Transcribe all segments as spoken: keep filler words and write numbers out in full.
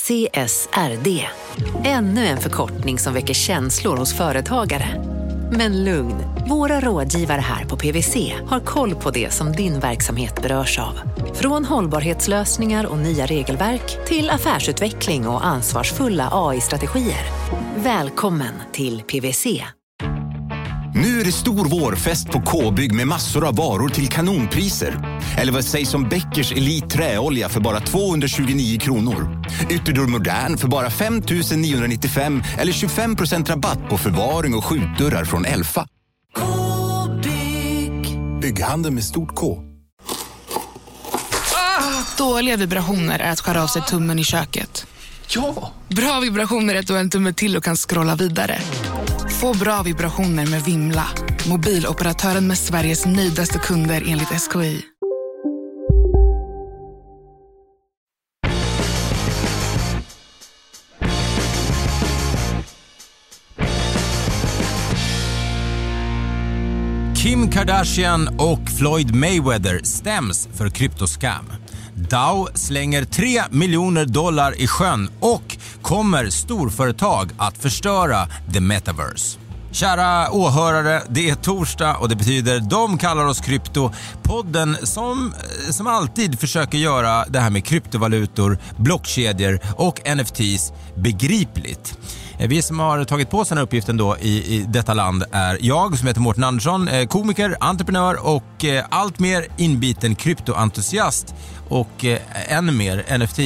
C S R D. Ännu en förkortning som väcker känslor hos företagare. Men lugn, våra rådgivare här på P W C har koll på det som din verksamhet berörs av. Från hållbarhetslösningar och nya regelverk till affärsutveckling och ansvarsfulla A I-strategier. Välkommen till P W C. Nu är det stor vårfest på K-bygg med massor av varor till kanonpriser. Eller vad sägs om Bäckers Elite träolja för bara tvåhundratjugonio kronor. Ytterdörr Modern för bara fem tusen niohundranittiofem eller tjugofem procent rabatt på förvaring och skjutdörrar från Elfa. K-bygg. Bygghandel med stort K. Ah, dåliga vibrationer är att skära av sig tummen i köket. Ja! Bra vibrationer är att du har en tumme till och kan scrolla vidare. Få bra vibrationer med Vimla. Mobiloperatören med Sveriges nöjdaste kunder enligt S K I. Kim Kardashian och Floyd Mayweather stäms för kryptoscam. Dow slänger tre miljoner dollar i sjön och kommer storföretag att förstöra the metaverse. Kära åhörare, det är torsdag och det betyder de kallar oss krypto. Podden som, som alltid försöker göra det här med kryptovalutor, blockkedjor och N F Ts begripligt. Vi som har tagit på sig den här uppgiften då i, i detta land är jag som heter Mårten Andersson, komiker, entreprenör och allt mer inbiten kryptoentusiast och eh, ännu mer N F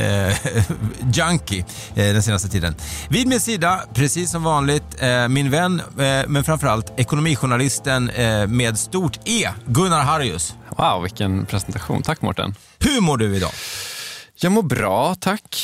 T-junkie eh, eh, den senaste tiden. Vid min sida, precis som vanligt, eh, min vän, eh, men framförallt ekonomijournalisten eh, med stort E, Gunnar Harrius. Wow, vilken presentation. Tack Mårten. Hur mår du idag? Jag mår bra, tack.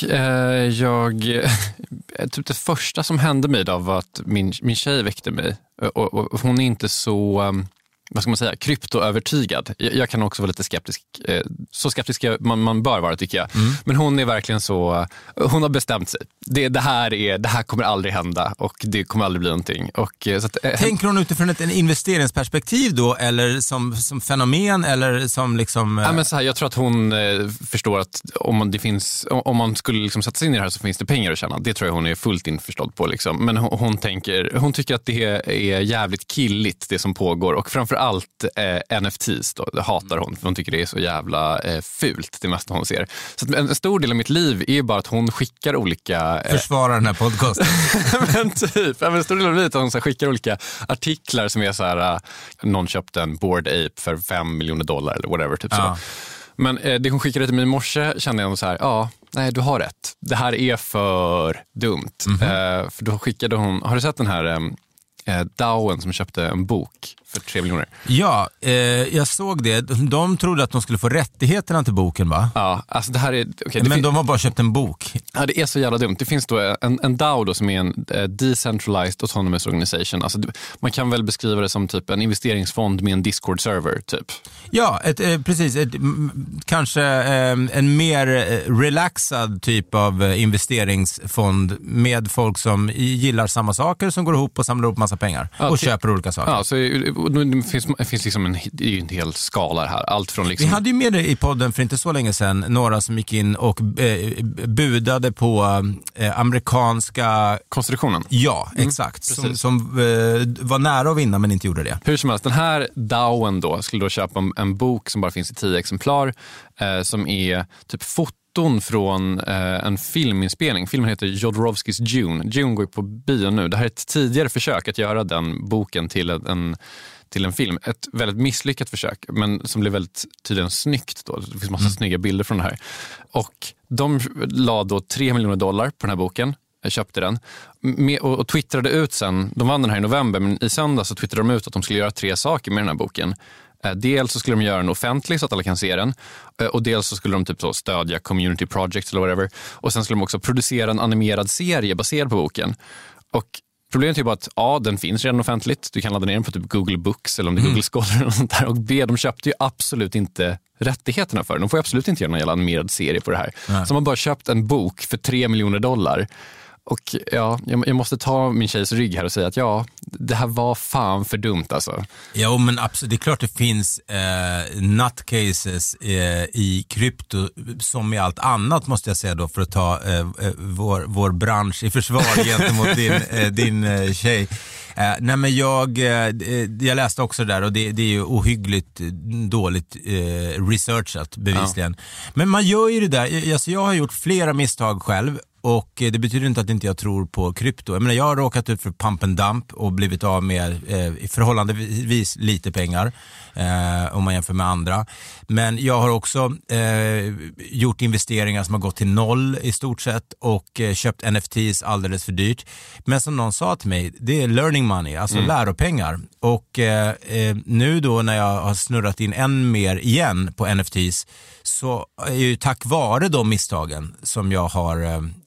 Jag, typ det första som hände mig idag var att min, min tjej väckte mig. Och, och hon är inte så, vad ska man säga, kryptoövertygad. Jag, jag kan också vara lite skeptisk. Så skeptisk man, man bör vara, tycker jag. Mm. Men hon är verkligen så, hon har bestämt sig. Det, det, här är, det här kommer aldrig hända och det kommer aldrig bli någonting. Och, så att, tänker hon utifrån ett en investeringsperspektiv då? Eller som, som fenomen? Eller som liksom... Ja, men så här, jag tror att hon eh, förstår att om man, det finns, om man skulle liksom sätta sig in i det här så finns det pengar att tjäna. Det tror jag hon är fullt införstådd på. Liksom. Men hon, hon, tänker, hon tycker att det är jävligt killigt det som pågår. Och framförallt eh, N F Ts då, det hatar hon. För hon tycker det är så jävla eh, fult det mesta hon ser. Så att en stor del av mitt liv är bara att hon skickar olika... Försvara den här podcasten. Men typ, en stor del av livet att hon så skickar olika artiklar som är så här, uh, någon köpte en Bored Ape för fem miljoner dollar eller whatever, typ ja. Så. Men eh, det hon skickade till mig i morse kände jag så här, ja, nej du har rätt. Det här är för dumt. Mm-hmm. Eh, för då skickade hon, har du sett den här eh, Dowen som köpte en bok för tre miljoner? Ja, eh, jag såg det. De trodde att de skulle få rättigheterna till boken, va? Ja, alltså det här är... Okay, men fin- de har bara köpt en bok. Ja, det är så jävla dumt. Det finns då en, en DAO då som är en uh, Decentralized Autonomous Organization. Alltså, det, man kan väl beskriva det som typ en investeringsfond med en Discord-server, typ. Ja, ett, eh, precis. Ett, m- kanske eh, en mer relaxad typ av eh, investeringsfond med folk som gillar samma saker, som går ihop och samlar upp massa pengar ja, och till, köper olika saker. Ja, så det finns, det finns liksom en, det är ju en hel skala här. Allt från liksom... Vi hade ju med det i podden för inte så länge sedan, några som gick in och eh, budade på eh, amerikanska... konstruktionen. Ja, mm, exakt. Som, som eh, var nära att vinna men inte gjorde det. Hur som helst, den här DAOen då skulle då köpa en, en bok som bara finns i tio exemplar eh, som är typ foton från eh, en filminspelning. Filmen heter Jodorowskys Dune. Dune går på bio nu. Det här är ett tidigare försök att göra den boken till en, till en film. Ett väldigt misslyckat försök, men som blev väldigt tydligen snyggt då. Det finns massa mm. snygga bilder från det här. Och de la då tre miljoner dollar på den här boken. Jag köpte den med, och, och twittrade ut sen. De vann den här i november, men i söndag så twittrade de ut att de skulle göra tre saker med den här boken. Dels så skulle de göra den offentlig så att alla kan se den. Och dels så skulle de typ så stödja community projects eller whatever. Och sen skulle de också producera en animerad serie baserad på boken. Och problemet är bara att A, den finns redan offentligt. Du kan ladda ner den på typ Google Books eller om det är mm. Google Scholar och sånt där. Och B, de köpte ju absolut inte rättigheterna för den. De får absolut inte göra någon jävla animerad serie på det här. Nej. Så man bara köpt en bok för tre miljoner dollar. Och ja, jag, jag måste ta min tjejs rygg här och säga att ja, det här var fan för dumt alltså. Ja, men absolut, det är klart det finns eh, nutcases eh, i krypto som i allt annat, måste jag säga då, för att ta eh, vår, vår bransch i försvar gentemot din, eh, din eh, tjej. Eh, nej men jag, eh, jag läste också där och det, det är ju ohyggligt dåligt eh, researchat bevisligen. Ja. Men man gör ju det där, alltså jag har gjort flera misstag själv. Och det betyder inte att inte jag tror på krypto. Jag menar, jag har råkat ut för pump and dump och blivit av med eh, förhållandevis lite pengar eh, om man jämför med andra. Men jag har också eh, gjort investeringar som har gått till noll i stort sett och eh, köpt N F Ts alldeles för dyrt. Men som någon sa till mig, det är learning money, alltså mm. läropengar. Och eh, eh, nu då när jag har snurrat in än mer igen på N F Ts, så är ju tack vare de misstagen som jag har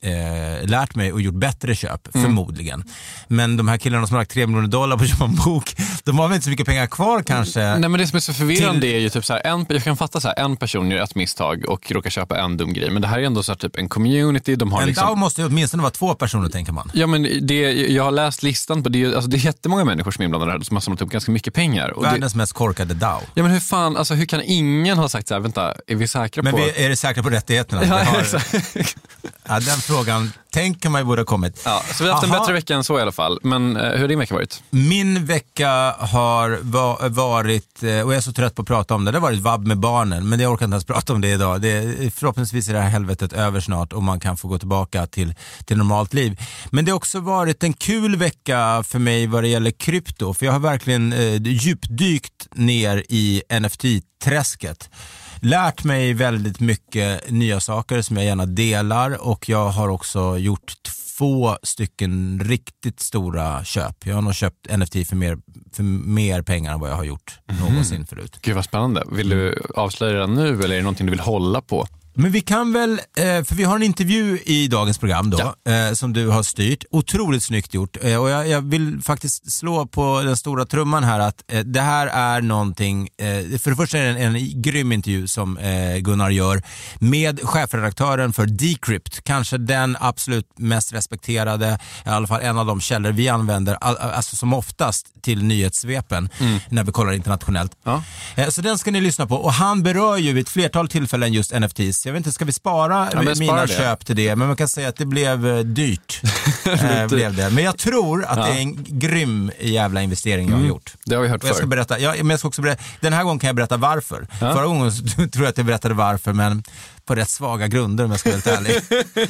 eh, lärt mig och gjort bättre köp, mm. förmodligen. Men de här killarna som har lagt tre miljoner dollar på att köpa en bok, de har väl inte så mycket pengar kvar kanske. Nej, men det som är så förvirrande till... är ju typ så här, en, jag kan fatta så här, en person gör ett misstag och råkar köpa en dum grej. Men det här är ändå så här, typ en community. De har en liksom... D A O måste ju åtminstone vara två personer, tänker man. Ja, men det, jag har läst listan på det, alltså det är jättemånga människor som är inblandade här som har samlat upp ganska mycket pengar. Och världens det... mest korkade D A O. Ja, men hur fan, alltså hur kan ingen ha sagt så här, vänta, är vi säkra men på... Men vi är säkra på rättigheterna? Ja, har... exakt. Ja, den frågan tänker man ju borde ha kommit. Ja, så vi har haft en Aha. bättre vecka än så i alla fall. Men eh, hur har din vecka varit? Min vecka har va- varit, och jag är så trött på att prata om det, det har varit vabb med barnen, men det orkar inte ens prata om det idag. Det är, förhoppningsvis är det här helvetet över snart och man kan få gå tillbaka till, till normalt liv. Men det har också varit en kul vecka för mig vad det gäller krypto, för jag har verkligen eh, djupdykt ner i N F T-träsket. Lärt mig väldigt mycket nya saker som jag gärna delar, och jag har också gjort två stycken riktigt stora köp. Jag har nog köpt N F T för mer, för mer pengar än vad jag har gjort mm. någonsin förut. Gud vad spännande. Vill du avslöja det nu eller är det någonting du vill hålla på? Men vi kan väl, för vi har en intervju i dagens program då, ja. som du har styrt. Otroligt snyggt gjort. Och jag, jag vill faktiskt slå på den stora trumman här att det här är någonting, för det första är det en, en grym intervju som Gunnar gör med chefredaktören för Decrypt. Kanske den absolut mest respekterade, i alla fall en av de källor vi använder, alltså som oftast till nyhetssvepen mm. när vi kollar internationellt. Ja. Så den ska ni lyssna på. Och han berör ju vid ett flertal tillfällen just N F Ts. Jag vet inte, ska vi spara ja, mina det. köp till det? Men man kan säga att det blev dyrt. äh, blev det. Men jag tror att ja. det är en grym jävla investering jag har mm. gjort. Det har vi hört jag ska förr. berätta, ja, men jag ska också berätta, den här gången kan jag berätta varför. Ja. Förra gången så tror jag att jag berättade varför, men på rätt svaga grunder om jag ska vara helt ärlig.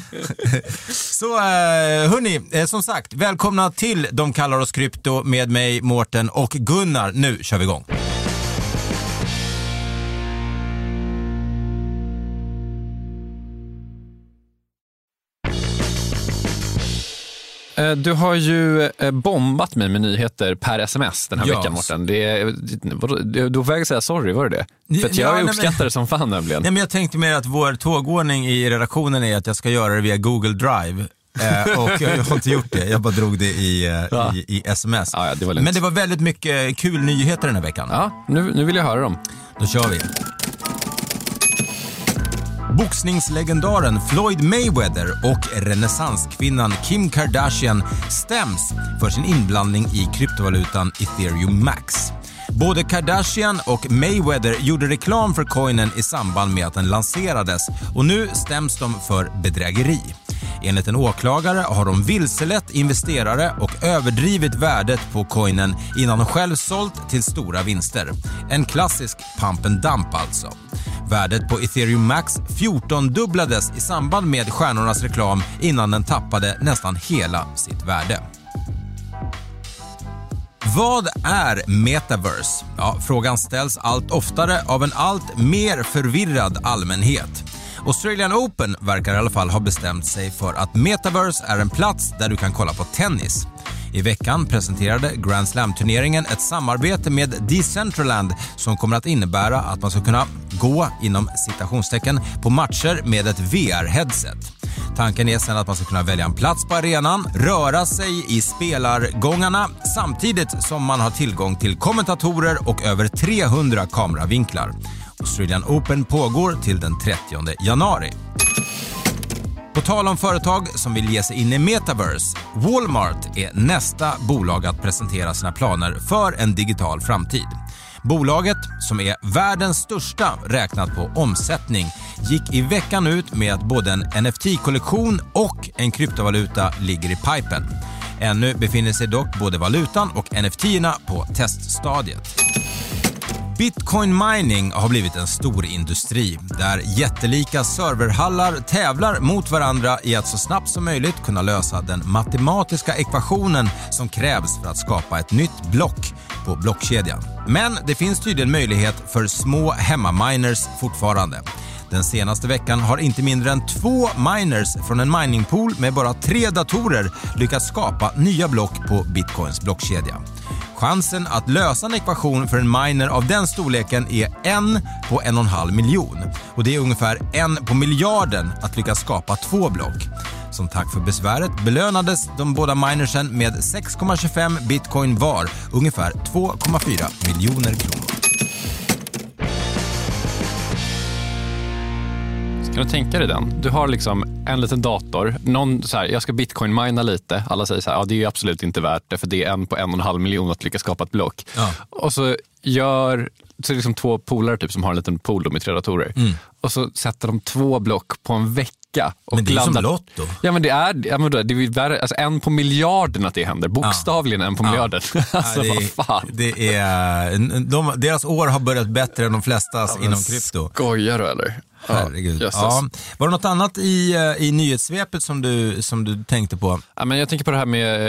Så äh, hörni, som sagt, välkomna till De kallar oss krypto med mig, Mårten och Gunnar. Nu kör vi igång. Du har ju bombat mig med nyheter per sms den här yes. veckan, Mårten. Det, du, du får säga sorry, var det det? För att jag ja, uppskattar men, det som fan nämligen. Nej, men jag tänkte mer att vår tågordning i redaktionen är att jag ska göra det via Google Drive. eh, och jag har inte gjort det, jag bara drog det i, ja. i, i sms. Ja, ja, det var men det var väldigt mycket kul nyheter den här veckan. Ja, nu, nu vill jag höra dem. Då kör vi. Boxningslegendaren Floyd Mayweather och renässanskvinnan Kim Kardashian stäms för sin inblandning i kryptovalutan Ethereum Max. Både Kardashian och Mayweather gjorde reklam för coinen i samband med att den lanserades, och nu stäms de för bedrägeri. Enligt en åklagare har de vilselett investerare och överdrivit värdet på coinen innan de själv sålt till stora vinster. En klassisk pump and dump alltså. Värdet på Ethereum Max fjorton-dubblades i samband med stjärnornas reklam innan den tappade nästan hela sitt värde. Vad är metaverse? Ja, frågan ställs allt oftare av en allt mer förvirrad allmänhet. Australian Open verkar i alla fall ha bestämt sig för att metaverse är en plats där du kan kolla på tennis. I veckan presenterade Grand Slam-turneringen ett samarbete med Decentraland som kommer att innebära att man ska kunna gå inom citationstecken på matcher med ett V R-headset. Tanken är sedan att man ska kunna välja en plats på arenan, röra sig i spelargångarna samtidigt som man har tillgång till kommentatorer och över trehundra kameravinklar. Australian Open pågår till den trettionde januari. På tal om företag som vill ge sig in i metaverse, Walmart är nästa bolag att presentera sina planer för en digital framtid. Bolaget, som är världens största räknat på omsättning, gick i veckan ut med att både en N F T-kollektion och en kryptovaluta ligger i pipen. Ännu befinner sig dock både valutan och N F T-erna på teststadiet. Bitcoin mining har blivit en stor industri där jättelika serverhallar tävlar mot varandra i att så snabbt som möjligt kunna lösa den matematiska ekvationen som krävs för att skapa ett nytt block på blockkedjan. Men det finns tydligen möjlighet för små hemmaminers fortfarande. Den senaste veckan har inte mindre än två miners från en miningpool med bara tre datorer lyckats skapa nya block på Bitcoins blockkedja. Chansen att lösa en ekvation för en miner av den storleken är en på en och en halv miljon. Och det är ungefär en på miljarden att lyckas skapa två block. Som tack för besväret belönades de båda minersen med sex komma tjugofem bitcoin var, ungefär två komma fyra miljoner kronor. Kan du tänka dig den? Du har liksom en liten dator. Någon så här, jag ska bitcoin-mina lite. Alla säger så här, ja det är absolut inte värt det för det är en på en och en halv miljon att lyckas skapa ett block. Ja. Och så gör så är det liksom två polare typ som har en liten pool med tre datorer. Mm. Och så sätter de två block på en vecka. Och men det är landar... som lotto. Ja men det är, ja, men det är värre, alltså en på miljarden att det händer. Bokstavligen ja. en på ja. miljarden. Alltså ja, det, vad fan. Det är, de, deras år har börjat bättre än de flestas ja, inom krypto. Skojar du eller? Herregud. Ja. Var det något annat i, i nyhetssvepet som du, som du tänkte på? Ja, men jag tänker på det här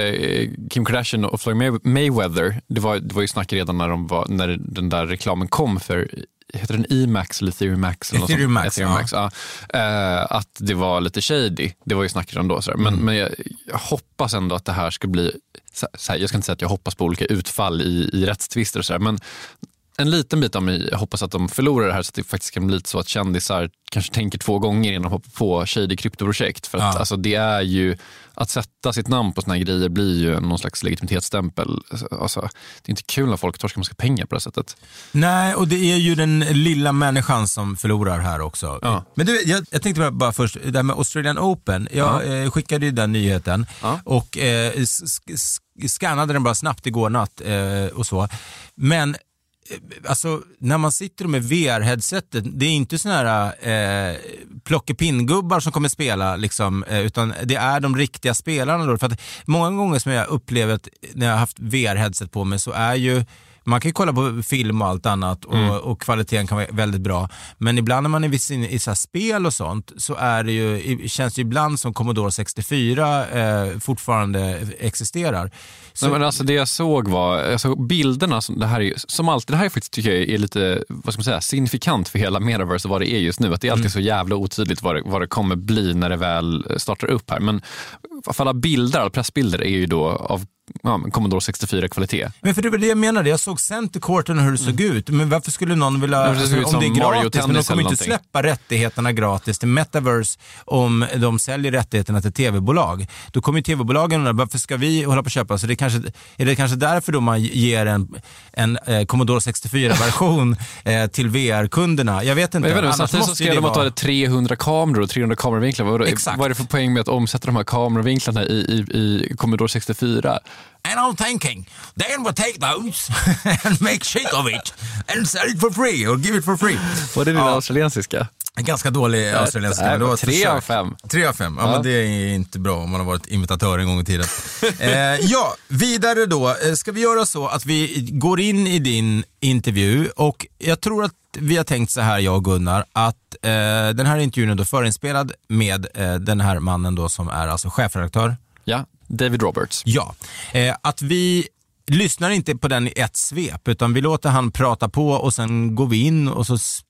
med Kim Kardashian och Floyd Mayweather. Det var, det var ju snack redan när, de var, när den där reklamen kom för, heter den E-Max eller Ethereum Max? Eller Ethereum Max, Ethereum Max ja. Ja. Uh, att det var lite shady. Det var ju snack redan då. Så mm. Men, men jag, jag hoppas ändå att det här ska bli, så här, jag ska inte säga att jag hoppas på olika utfall i, i rättstvister och så här, men en liten bit av mig hoppas att de förlorar det här så att det faktiskt kan bli lite så att kändisar kanske tänker två gånger innan de hoppar på shady kryptoprojekt. För att ja. alltså, det är ju, att sätta sitt namn på såna här grejer blir ju någon slags legitimitetsstämpel. Alltså, det är inte kul när folk torskar massa pengar på det sättet. Nej, och det är ju den lilla människan som förlorar här också. Ja. Men du, jag, jag tänkte bara, bara först, det här med Australian Open. Jag ja. eh, skickade ju den nyheten ja. och eh, sk- skannade den bara snabbt igår natt eh, och så. Men alltså, när man sitter med V R-headsetet, det är inte såna här eh, plockepinnggubbar som kommer spela liksom, eh, utan det är de riktiga spelarna då. För att många gånger som jag upplevt när jag har haft V R-headset på mig så är ju, man kan ju kolla på film och allt annat och, mm. och kvaliteten kan vara väldigt bra. Men ibland när man är i, i så här spel och sånt så är det ju, känns det ju ibland som Commodore sextiofyra eh, fortfarande existerar. Så, Nej, men alltså det jag såg var, alltså bilderna som det här är, som alltid, det här är faktiskt tycker jag är lite, vad ska man säga, signifikant för hela metaverse och vad det är just nu. Att det är alltid mm. så jävla otydligt vad det, vad det kommer bli när det väl startar upp här. Men alla bilder, alla pressbilder är ju då av ja, Commodore sextiofyra-kvalitet. Men för det var det jag menade, jag såg Center-korten hur det såg mm. ut. Men varför skulle någon vilja, alltså, det om det är gratis, men de kommer inte släppa rättigheterna gratis till Metaverse om de säljer rättigheterna till tv-bolag. Då kommer ju tv-bolagen undra, varför ska vi hålla på att köpa? Så det kanske, är det kanske därför då man ger en, en eh, Commodore sextiofyra-version eh, till V R-kunderna? Jag vet inte. Men jag vet inte, samtidigt så ska de vara... ha trehundra kameror och trehundra kameravinklar. Vad, vad är det för poäng med att omsätta de här kameravinklarna i, i, i Commodore sextiofyra? And I'm thinking, then we'll take those and make shit of it and sell it for free or give it for free. Var det din ja. australiensiska? En ganska dålig australiensiska. Det var tre av fem. Tre av fem, ja, ja men det är inte bra om man har varit imitatör en gång i tiden. eh, ja, vidare då. Ska vi göra så att vi går in i din intervju och jag tror att vi har tänkt så här, jag och Gunnar, att eh, den här intervjun är då förinspelad med eh, den här mannen då som är alltså chefredaktör. Ja, David Roberts. Ja, eh, att vi lyssnar inte på den i ett svep utan vi låter han prata på och sen går vi in och så s-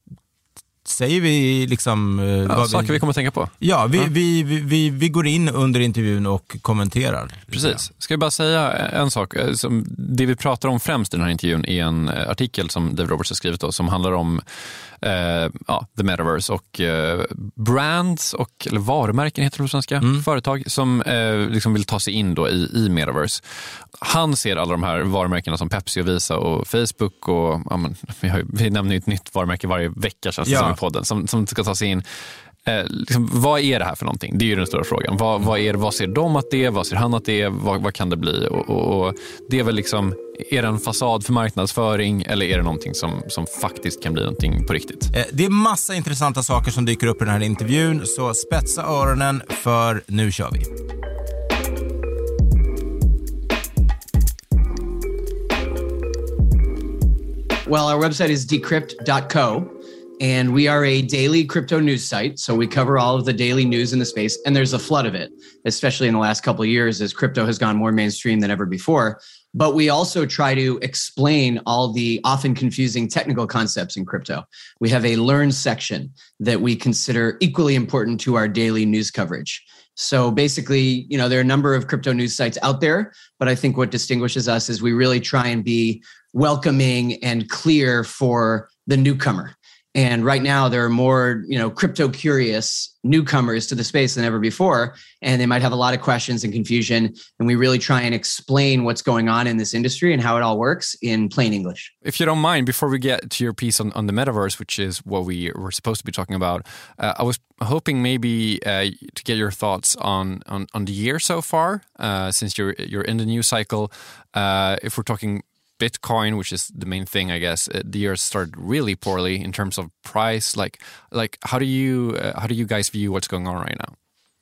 säger vi liksom... Eh, ja, vad saker vi, vi kommer att tänka på. Ja, vi, ja. Vi, vi, vi, vi går in under intervjun och kommenterar. Precis. Ska jag bara säga en sak. Som det vi pratar om främst i den här intervjun är en artikel som David Roberts har skrivit då, som handlar om eh, ja, the metaverse och eh, brands och eller varumärken heter det på svenska, mm. företag som eh, liksom vill ta sig in då i, i metaverse. Han ser alla de här varumärkena som Pepsi och Visa och Facebook och ja, men, vi, har, vi nämner ju ett nytt varumärke varje vecka känns det ja. som i podden som, som ska ta sig in Eh, liksom, vad är det här för någonting? Det är ju den stora frågan. Vad, vad, är, vad ser de att det är? Vad ser han att det är? Vad, vad kan det bli? Och, och, och det är väl liksom, är det en fasad för marknadsföring eller är det någonting som, som faktiskt kan bli någonting på riktigt? Eh, det är massa intressanta saker som dyker upp i den här intervjun, så spetsa öronen för nu kör vi. Well, our website is decrypt dot co, and we are a daily crypto news site. So we cover all of the daily news in the space, and there's a flood of it, especially in the last couple of years as crypto has gone more mainstream than ever before. But we also try to explain all the often confusing technical concepts in crypto. We have a learn section that we consider equally important to our daily news coverage. So basically, you know, there are a number of crypto news sites out there, but I think what distinguishes us is we really try and be welcoming and clear for the newcomer. And right now there are more, you know, crypto curious newcomers to the space than ever before. And they might have a lot of questions and confusion. And we really try and explain what's going on in this industry and how it all works in plain English. If you don't mind, before we get to your piece on, on the metaverse, which is what we were supposed to be talking about, uh, I was hoping maybe uh, to get your thoughts on, on, on the year so far, uh, since you're, you're in the news cycle. Uh, if we're talking Bitcoin, which is the main thing, I guess, the year started really poorly in terms of price. Like, like how do you uh, how do you guys view what's going on right now?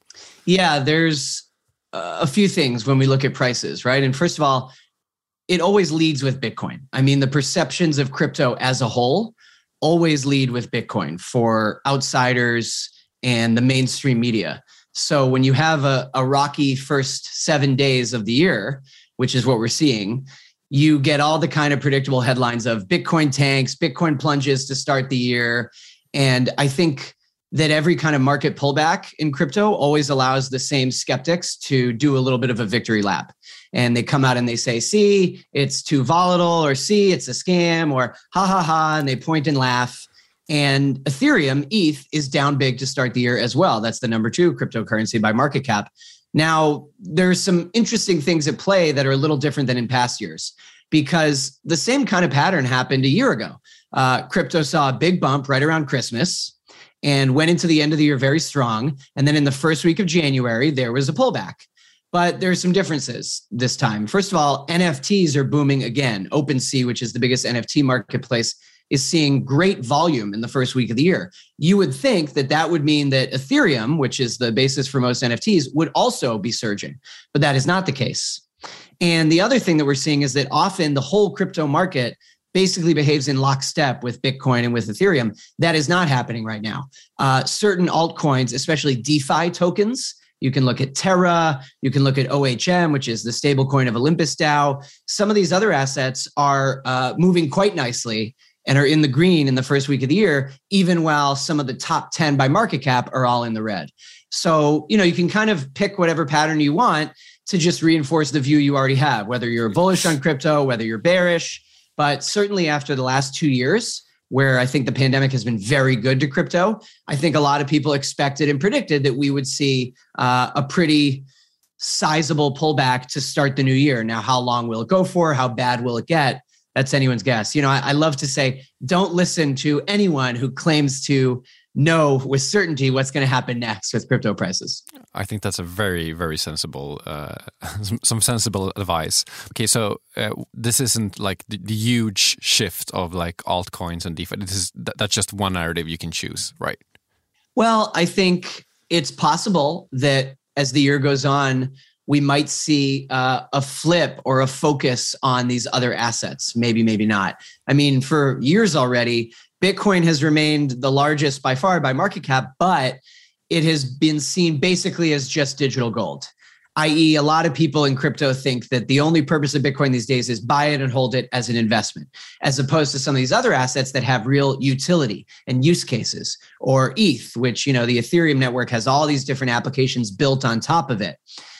Yeah, there's a few things when we look at prices, right? And first of all, it always leads with Bitcoin. I mean, the perceptions of crypto as a whole always lead with Bitcoin for outsiders and the mainstream media. So when you have a, a rocky first seven days of the year, which is what we're seeing, you get all the kind of predictable headlines of Bitcoin tanks, Bitcoin plunges to start the year. And I think that every kind of market pullback in crypto always allows the same skeptics to do a little bit of a victory lap. And they come out and they say, see, it's too volatile, or see, it's a scam, or ha, ha, ha, and they point and laugh. And Ethereum, E T H, is down big to start the year as well. That's the number two cryptocurrency by market cap. Now, there's some interesting things at play that are a little different than in past years, because the same kind of pattern happened a year ago. Uh, crypto saw a big bump right around Christmas and went into the end of the year very strong. And then in the first week of January, there was a pullback. But there's some differences this time. First of all, N F Ts are booming again. OpenSea, which is the biggest N F T marketplace, is seeing great volume in the first week of the year. You would think that that would mean that Ethereum, which is the basis for most N F Ts, would also be surging, but that is not the case. And the other thing that we're seeing is that often the whole crypto market basically behaves in lockstep with Bitcoin and with Ethereum. That is not happening right now. Uh, certain altcoins, especially DeFi tokens, you can look at Terra, you can look at O H M, which is the stablecoin of Olympus DAO. Some of these other assets are uh, moving quite nicely and are in the green in the first week of the year, even while some of the top ten by market cap are all in the red. So, you know, you can kind of pick whatever pattern you want to just reinforce the view you already have, whether you're bullish on crypto, whether you're bearish. But certainly after the last two years, where I think the pandemic has been very good to crypto, I think a lot of people expected and predicted that we would see uh, a pretty sizable pullback to start the new year. Now, how long will it go for? How bad will it get? That's anyone's guess. You know, I, I love to say, don't listen to anyone who claims to know with certainty what's going to happen next with crypto prices. I think that's a very, very sensible, uh, some, some sensible advice. Okay, so uh, this isn't like the, the huge shift of like altcoins and DeFi. This is th- that's just one narrative you can choose, right? Well, I think it's possible that as the year goes on, we might see uh, a flip or a focus on these other assets. Maybe, maybe not. I mean, for years already, Bitcoin has remained the largest by far by market cap, but it has been seen basically as just digital gold, that is a lot of people in crypto think that the only purpose of Bitcoin these days is buy it and hold it as an investment, as opposed to some of these other assets that have real utility and use cases, or E T H, which, you know, the Ethereum network has all these different applications built on top of it.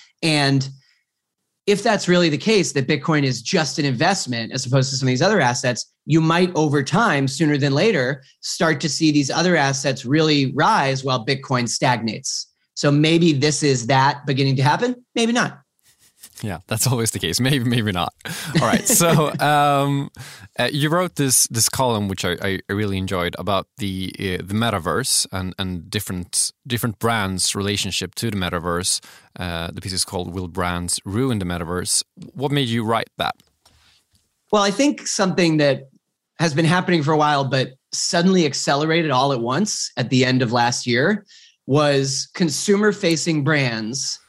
And if that's really the case, that Bitcoin is just an investment as opposed to some of these other assets, you might over time, sooner than later, start to see these other assets really rise while Bitcoin stagnates. So maybe this is that beginning to happen, maybe not. Yeah, that's always the case. Maybe, maybe not. All right. So um, uh, you wrote this this column, which I, I really enjoyed, about the uh, the metaverse and and different different brands' relationship to the metaverse. Uh, the piece is called "Will Brands Ruin the Metaverse?" What made you write that? Well, I think something that has been happening for a while, but suddenly accelerated all at once at the end of last year, was consumer-facing brands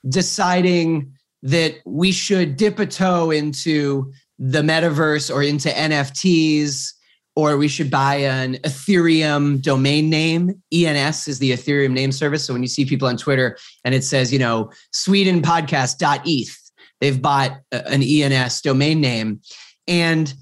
deciding that we should dip a toe into the metaverse or into N F Ts, or we should buy an Ethereum domain name. E N S is the Ethereum name service. So when you see people on Twitter and it says, you know, Sweden podcast dot E T H, they've bought an E N S domain name. And,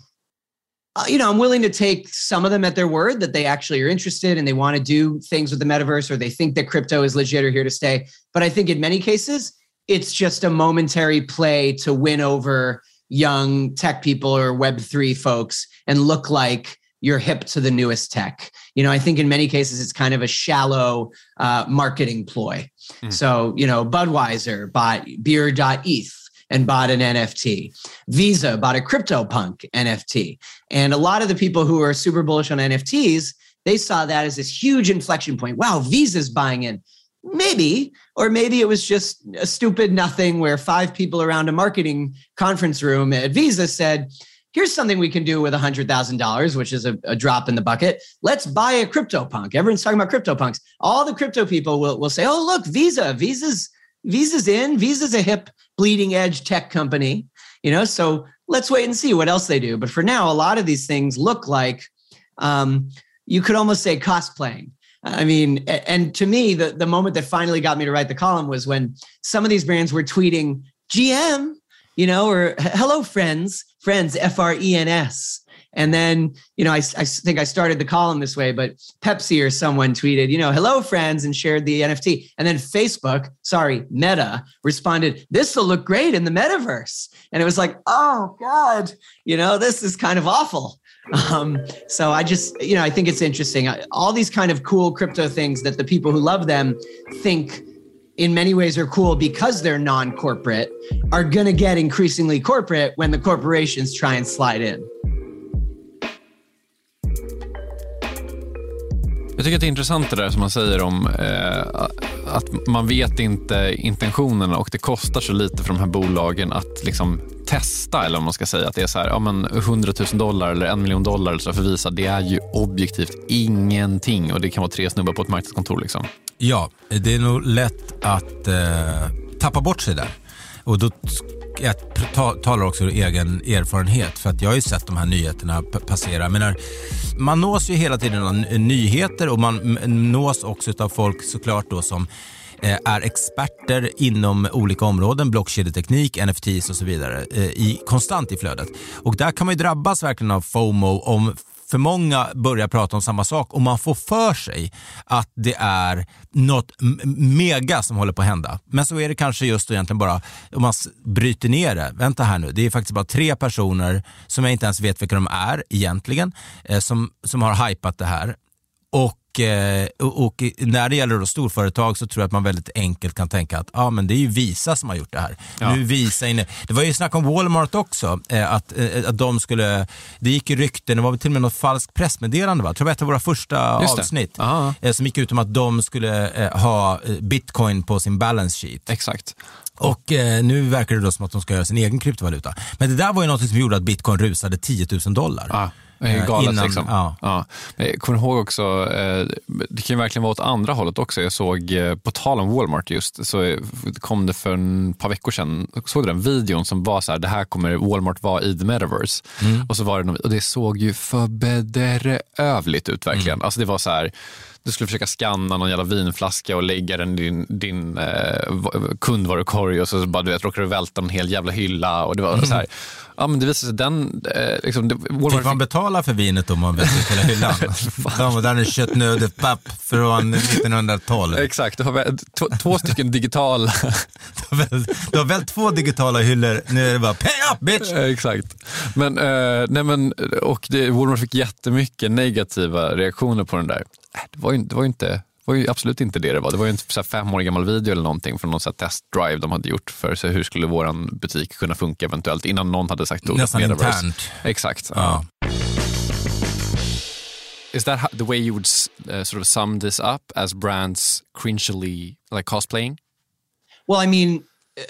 uh, you know, I'm willing to take some of them at their word that they actually are interested and they want to do things with the metaverse, or they think that crypto is legit or here to stay. But I think in many cases, it's just a momentary play to win over young tech people or Web three folks and look like you're hip to the newest tech. You know, I think in many cases, it's kind of a shallow uh, marketing ploy. Mm. So, you know, Budweiser bought beer dot E T H and bought an N F T. Visa bought a CryptoPunk N F T. And a lot of the people who are super bullish on N F Ts, they saw that as this huge inflection point. Wow, Visa's buying in. Maybe, or maybe it was just a stupid nothing where five people around a marketing conference room at Visa said, here's something we can do with one hundred thousand dollars, which is a, a drop in the bucket. Let's buy a CryptoPunk. Everyone's talking about CryptoPunks. All the crypto people will, will say, oh, look, Visa, Visa's, Visa's in. Visa's a hip, bleeding edge tech company. You know, so let's wait and see what else they do. But for now, a lot of these things look like, um, you could almost say cosplaying. I mean, and to me, the, the moment that finally got me to write the column was when some of these brands were tweeting G M, you know, or hello, friends, friends, F R E N S. And then, you know, I, I think I started the column this way, but Pepsi or someone tweeted, you know, hello, friends, and shared the N F T. And then Facebook, sorry, Meta, responded, this will look great in the metaverse. And it was like, oh, God, you know, this is kind of awful. Um, so I just, you know, I think it's interesting. All these kind of cool crypto things that the people who love them think in many ways are cool because they're non-corporate are going to get increasingly corporate when the corporations try and slide in. Jag tycker att det är intressant det där som man säger om eh, att man vet inte intentionerna och det kostar så lite för de här bolagen att liksom testa, eller om man ska säga att det är så här, ja men hundratusen dollar eller en miljon dollar eller så för Visa, det är ju objektivt ingenting och det kan vara tre snubbar på ett marknadskontor liksom. Ja, det är nog lätt att eh, tappa bort sig där. Och då jag talar också ur egen erfarenhet, för att jag har ju sett de här nyheterna passera. Jag menar, man nås ju hela tiden av nyheter och man nås också av folk såklart då som är experter inom olika områden, blockkedjeteknik, N F Ts och så vidare, i, konstant i flödet. Och där kan man ju drabbas verkligen av FOMO om för många börjar prata om samma sak och man får för sig att det är något mega som håller på att hända. Men så är det kanske just då egentligen bara, om man bryter ner det, vänta här nu, det är faktiskt bara tre personer som jag inte ens vet vilka de är egentligen, eh, som, som har hypat det här. Och Och, och när det gäller då storföretag så tror jag att man väldigt enkelt kan tänka att ah, men det är ju Visa som har gjort det här. Ja. Nu Visa inne. Det var ju snack om Walmart också, eh, att, eh, att de skulle, det gick i rykten, det var till och med något falskt pressmeddelande, va? Jag tror det var ett av våra första avsnitt eh, som gick ut om att de skulle eh, ha bitcoin på sin balance sheet. Exakt. Och eh, nu verkar det då som att de ska göra sin egen kryptovaluta. Men det där var ju något som gjorde att bitcoin rusade tio tusen dollar. Ja. Galet, innan, liksom. ja. Ja. Jag kommer ihåg också, det kan ju verkligen vara åt andra hållet också. Jag såg, på tal om Walmart just, så kom det för en par veckor sedan, såg du den videon som var så här, det här kommer Walmart vara i the metaverse. Mm. Och så var det, och det såg ju för bedrövligt ut verkligen. Mm. Alltså det var så här, du skulle försöka scanna någon jävla vinflaska och lägga den i din, din eh, kundvarukorg och så bara, du vet, råkar du välta en hel jävla hylla och det var mm. så här. Ja, men det visade sig den eh, liksom, det, Walmart fick man betala för vinet om man vet hela hyllan. De var där en köttnödepapp från nittonhundratolv. Exakt, du har väl två, två stycken digitala. du, har väl, du har väl två digitala hyllor, nu är det bara pay up bitch. Exakt. Men eh, nej men och det, Walmart fick jättemycket negativa reaktioner på den där. Det var ju, det var ju inte det var ju absolut inte det det var. Det var ju en så här fem år gammal video eller någonting från någon så här testdrive de hade gjort för så hur skulle våran butik kunna funka eventuellt innan någon hade sagt ordet nästan metaverse. internt. Exakt. Ja. Is that how, the way you would uh, sort of sum this up as brands cringily like cosplaying? Well, I mean,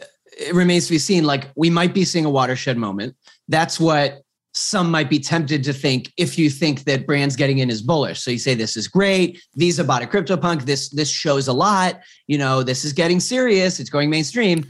it remains to be seen. Like, we might be seeing a watershed moment. That's what some might be tempted to think if you think that brands getting in is bullish. So you say, this is great. Visa bought a CryptoPunk. This, this shows a lot. You know, this is getting serious. It's going mainstream.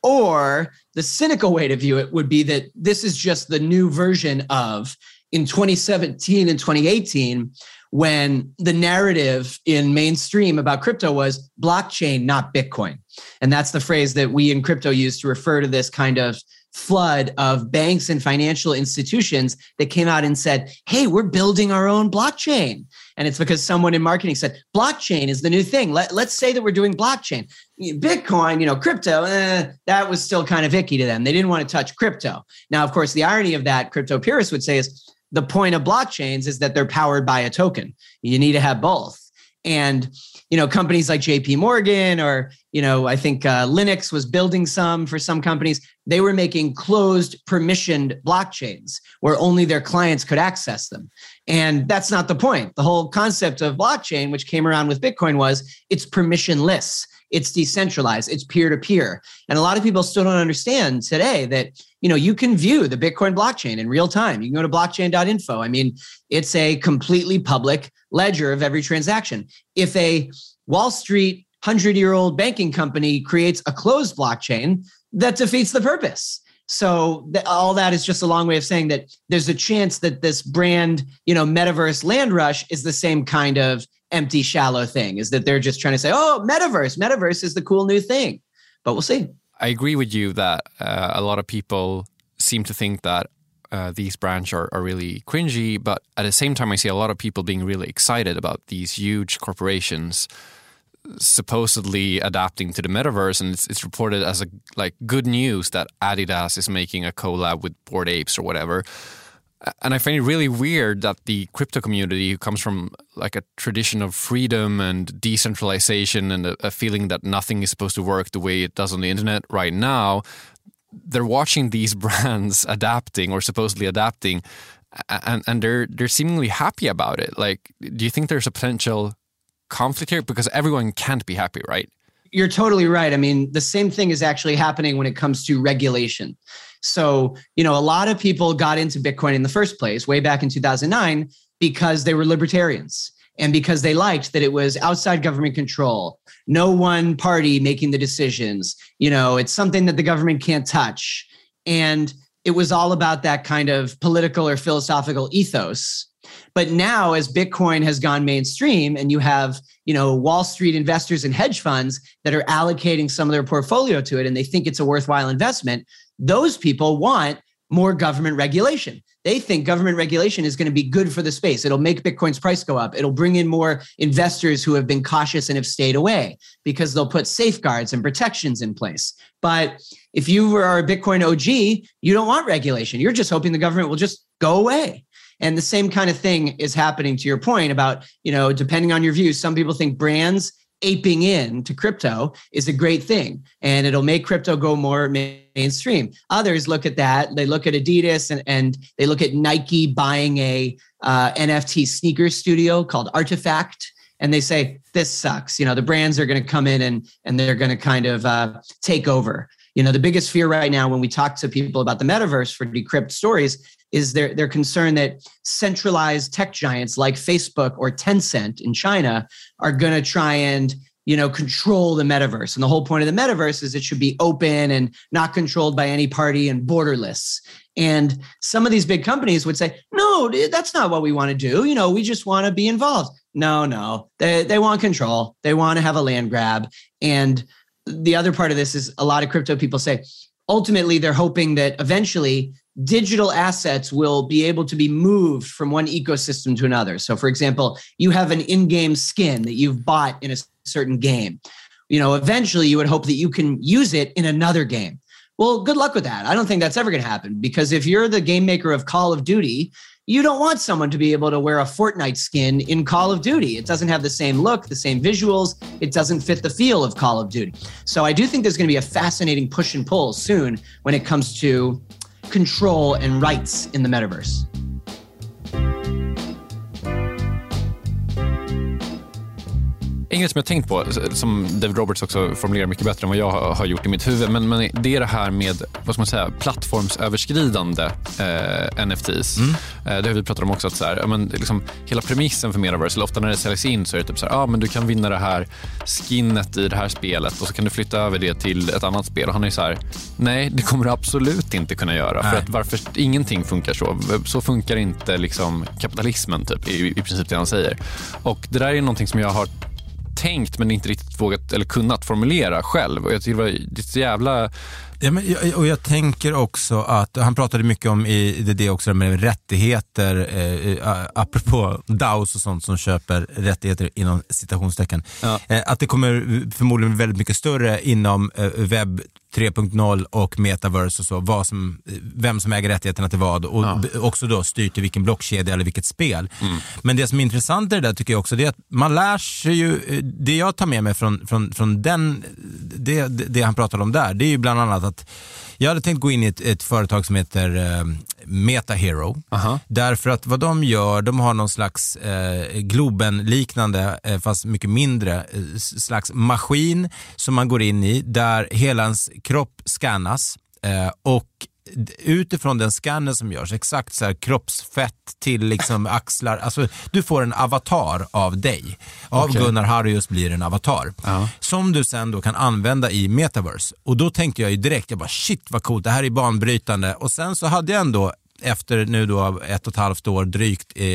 Or the cynical way to view it would be that this is just the new version of in twenty seventeen and twenty eighteen, when the narrative in mainstream about crypto was blockchain, not Bitcoin. And that's the phrase that we in crypto use to refer to this kind of flood of banks and financial institutions that came out and said, hey, we're building our own blockchain. And it's because someone in marketing said, blockchain is the new thing. Let, let's say that we're doing blockchain. Bitcoin, you know, crypto, eh, that was still kind of icky to them. They didn't want to touch crypto. Now, of course, the irony of that, crypto purists would say, is the point of blockchains is that they're powered by a token. You need to have both. And, you know, companies like J P Morgan or, you know, I think uh, Linux was building some for some companies. They were making closed permissioned blockchains where only their clients could access them. And that's not the point. The whole concept of blockchain, which came around with Bitcoin, was it's permissionless. It's decentralized. It's peer-to-peer. And a lot of people still don't understand today that, you know, you can view the Bitcoin blockchain in real time. You can go to blockchain dot info. I mean, it's a completely public ledger of every transaction. If a Wall Street hundred-year-old banking company creates a closed blockchain, that defeats the purpose. So th- all that is just a long way of saying that there's a chance that this brand, you know, metaverse land rush is the same kind of empty, shallow thing, is that they're just trying to say, oh, metaverse, metaverse is the cool new thing. But we'll see. I agree with you that uh, a lot of people seem to think that uh, these brands are, are really cringy, but at the same time, I see a lot of people being really excited about these huge corporations supposedly adapting to the metaverse, and it's, it's reported as a like good news that Adidas is making a collab with Bored Apes or whatever. And I find it really weird that the crypto community, who comes from like a tradition of freedom and decentralization and a, a feeling that nothing is supposed to work the way it does on the internet right now, they're watching these brands adapting or supposedly adapting, and, and they're they're seemingly happy about it. Like, do you think there's a potential conflict here? Because everyone can't be happy, right? You're totally right. I mean, the same thing is actually happening when it comes to regulation. So, you know, a lot of people got into Bitcoin in the first place way back in two thousand nine because they were libertarians and because they liked that it was outside government control, no one party making the decisions. You know, it's something that the government can't touch. And it was all about that kind of political or philosophical ethos. But now, as Bitcoin has gone mainstream and you have, you know, Wall Street investors and hedge funds that are allocating some of their portfolio to it and they think it's a worthwhile investment, those people want more government regulation. They think government regulation is going to be good for the space. It'll make Bitcoin's price go up. It'll bring in more investors who have been cautious and have stayed away because they'll put safeguards and protections in place. But if you are a Bitcoin O G, you don't want regulation. You're just hoping the government will just go away. And the same kind of thing is happening to your point about, you know, depending on your views, some people think brands aping in to crypto is a great thing and it'll make crypto go more mainstream. Others look at that. They look at Adidas and, and they look at Nike buying a uh, N F T sneaker studio called Artifact. And they say, this sucks. You know, the brands are going to come in and, and they're going to kind of uh, take over. You know, the biggest fear right now when we talk to people about the metaverse for Decrypt Stories is they're, they're concerned that centralized tech giants like Facebook or Tencent in China are going to try and, you know, control the metaverse. And the whole point of the metaverse is it should be open and not controlled by any party and borderless. And some of these big companies would say, no, that's not what we want to do. You know, we just want to be involved. No, no, they, they want control. They want to have a land grab. And the other part of this is a lot of crypto people say, ultimately, they're hoping that eventually digital assets will be able to be moved from one ecosystem to another. So, for example, you have an in-game skin that you've bought in a certain game. You know, eventually you would hope that you can use it in another game. Well, good luck with that. I don't think that's ever going to happen, because if you're the game maker of Call of Duty, you don't want someone to be able to wear a Fortnite skin in Call of Duty. It doesn't have the same look, the same visuals. It doesn't fit the feel of Call of Duty. So I do think there's going to be a fascinating push and pull soon when it comes to control and rights in the metaverse. En grej som jag tänkt på, som David Roberts också formulerar mycket bättre än vad jag har gjort i mitt huvud, men, men det är det här med, vad ska man säga, plattformsöverskridande eh, N F Ts. Mm. Eh, det har vi pratat om också, att så här, men, liksom, hela premissen för Metaverse, eller ofta när det säljs in så är det typ så här, ah, men du kan vinna det här skinnet i det här spelet och så kan du flytta över det till ett annat spel. Och han är så här, nej, det kommer du absolut inte kunna göra. Nej. För att varför ingenting funkar så. Så funkar inte liksom kapitalismen typ, i, i princip det han säger. Och det där är någonting som jag har tänkt men inte riktigt vågat eller kunnat formulera själv, och jag tycker det var så jävla... Ja, men jag, och jag tänker också att han pratade mycket om i det, det också med rättigheter, eh, apropå D A Os och sånt som köper rättigheter inom citationstecken, ja. eh, att det kommer förmodligen bli väldigt mycket större inom eh, webb tre punkt noll och metaverse och så, vad som, vem som äger rättigheterna till vad, och ja. också då styr till vilken blockkedja eller vilket spel. Mm. Men det som är intressant i det där tycker jag också, det är att man lär sig ju, det jag tar med mig från, från, från den, det, det han pratade om där, det är ju bland annat att jag hade tänkt gå in i ett, ett företag som heter eh, MetaHero. Uh-huh. Därför att vad de gör, de har någon slags eh, Globen-liknande, eh, fast mycket mindre, eh, slags maskin som man går in i där hela ens kropp scannas eh, och utifrån den scannen som görs, exakt så här kroppsfett till liksom axlar, alltså du får en avatar av dig. Av okay. Gunnar Harrius blir en avatar. Uh-huh. Som du sen då kan använda i Metaverse. Och då tänkte jag ju direkt, jag bara shit vad coolt, det här är banbrytande. Och sen så hade jag ändå efter nu då ett och ett halvt år drygt eh,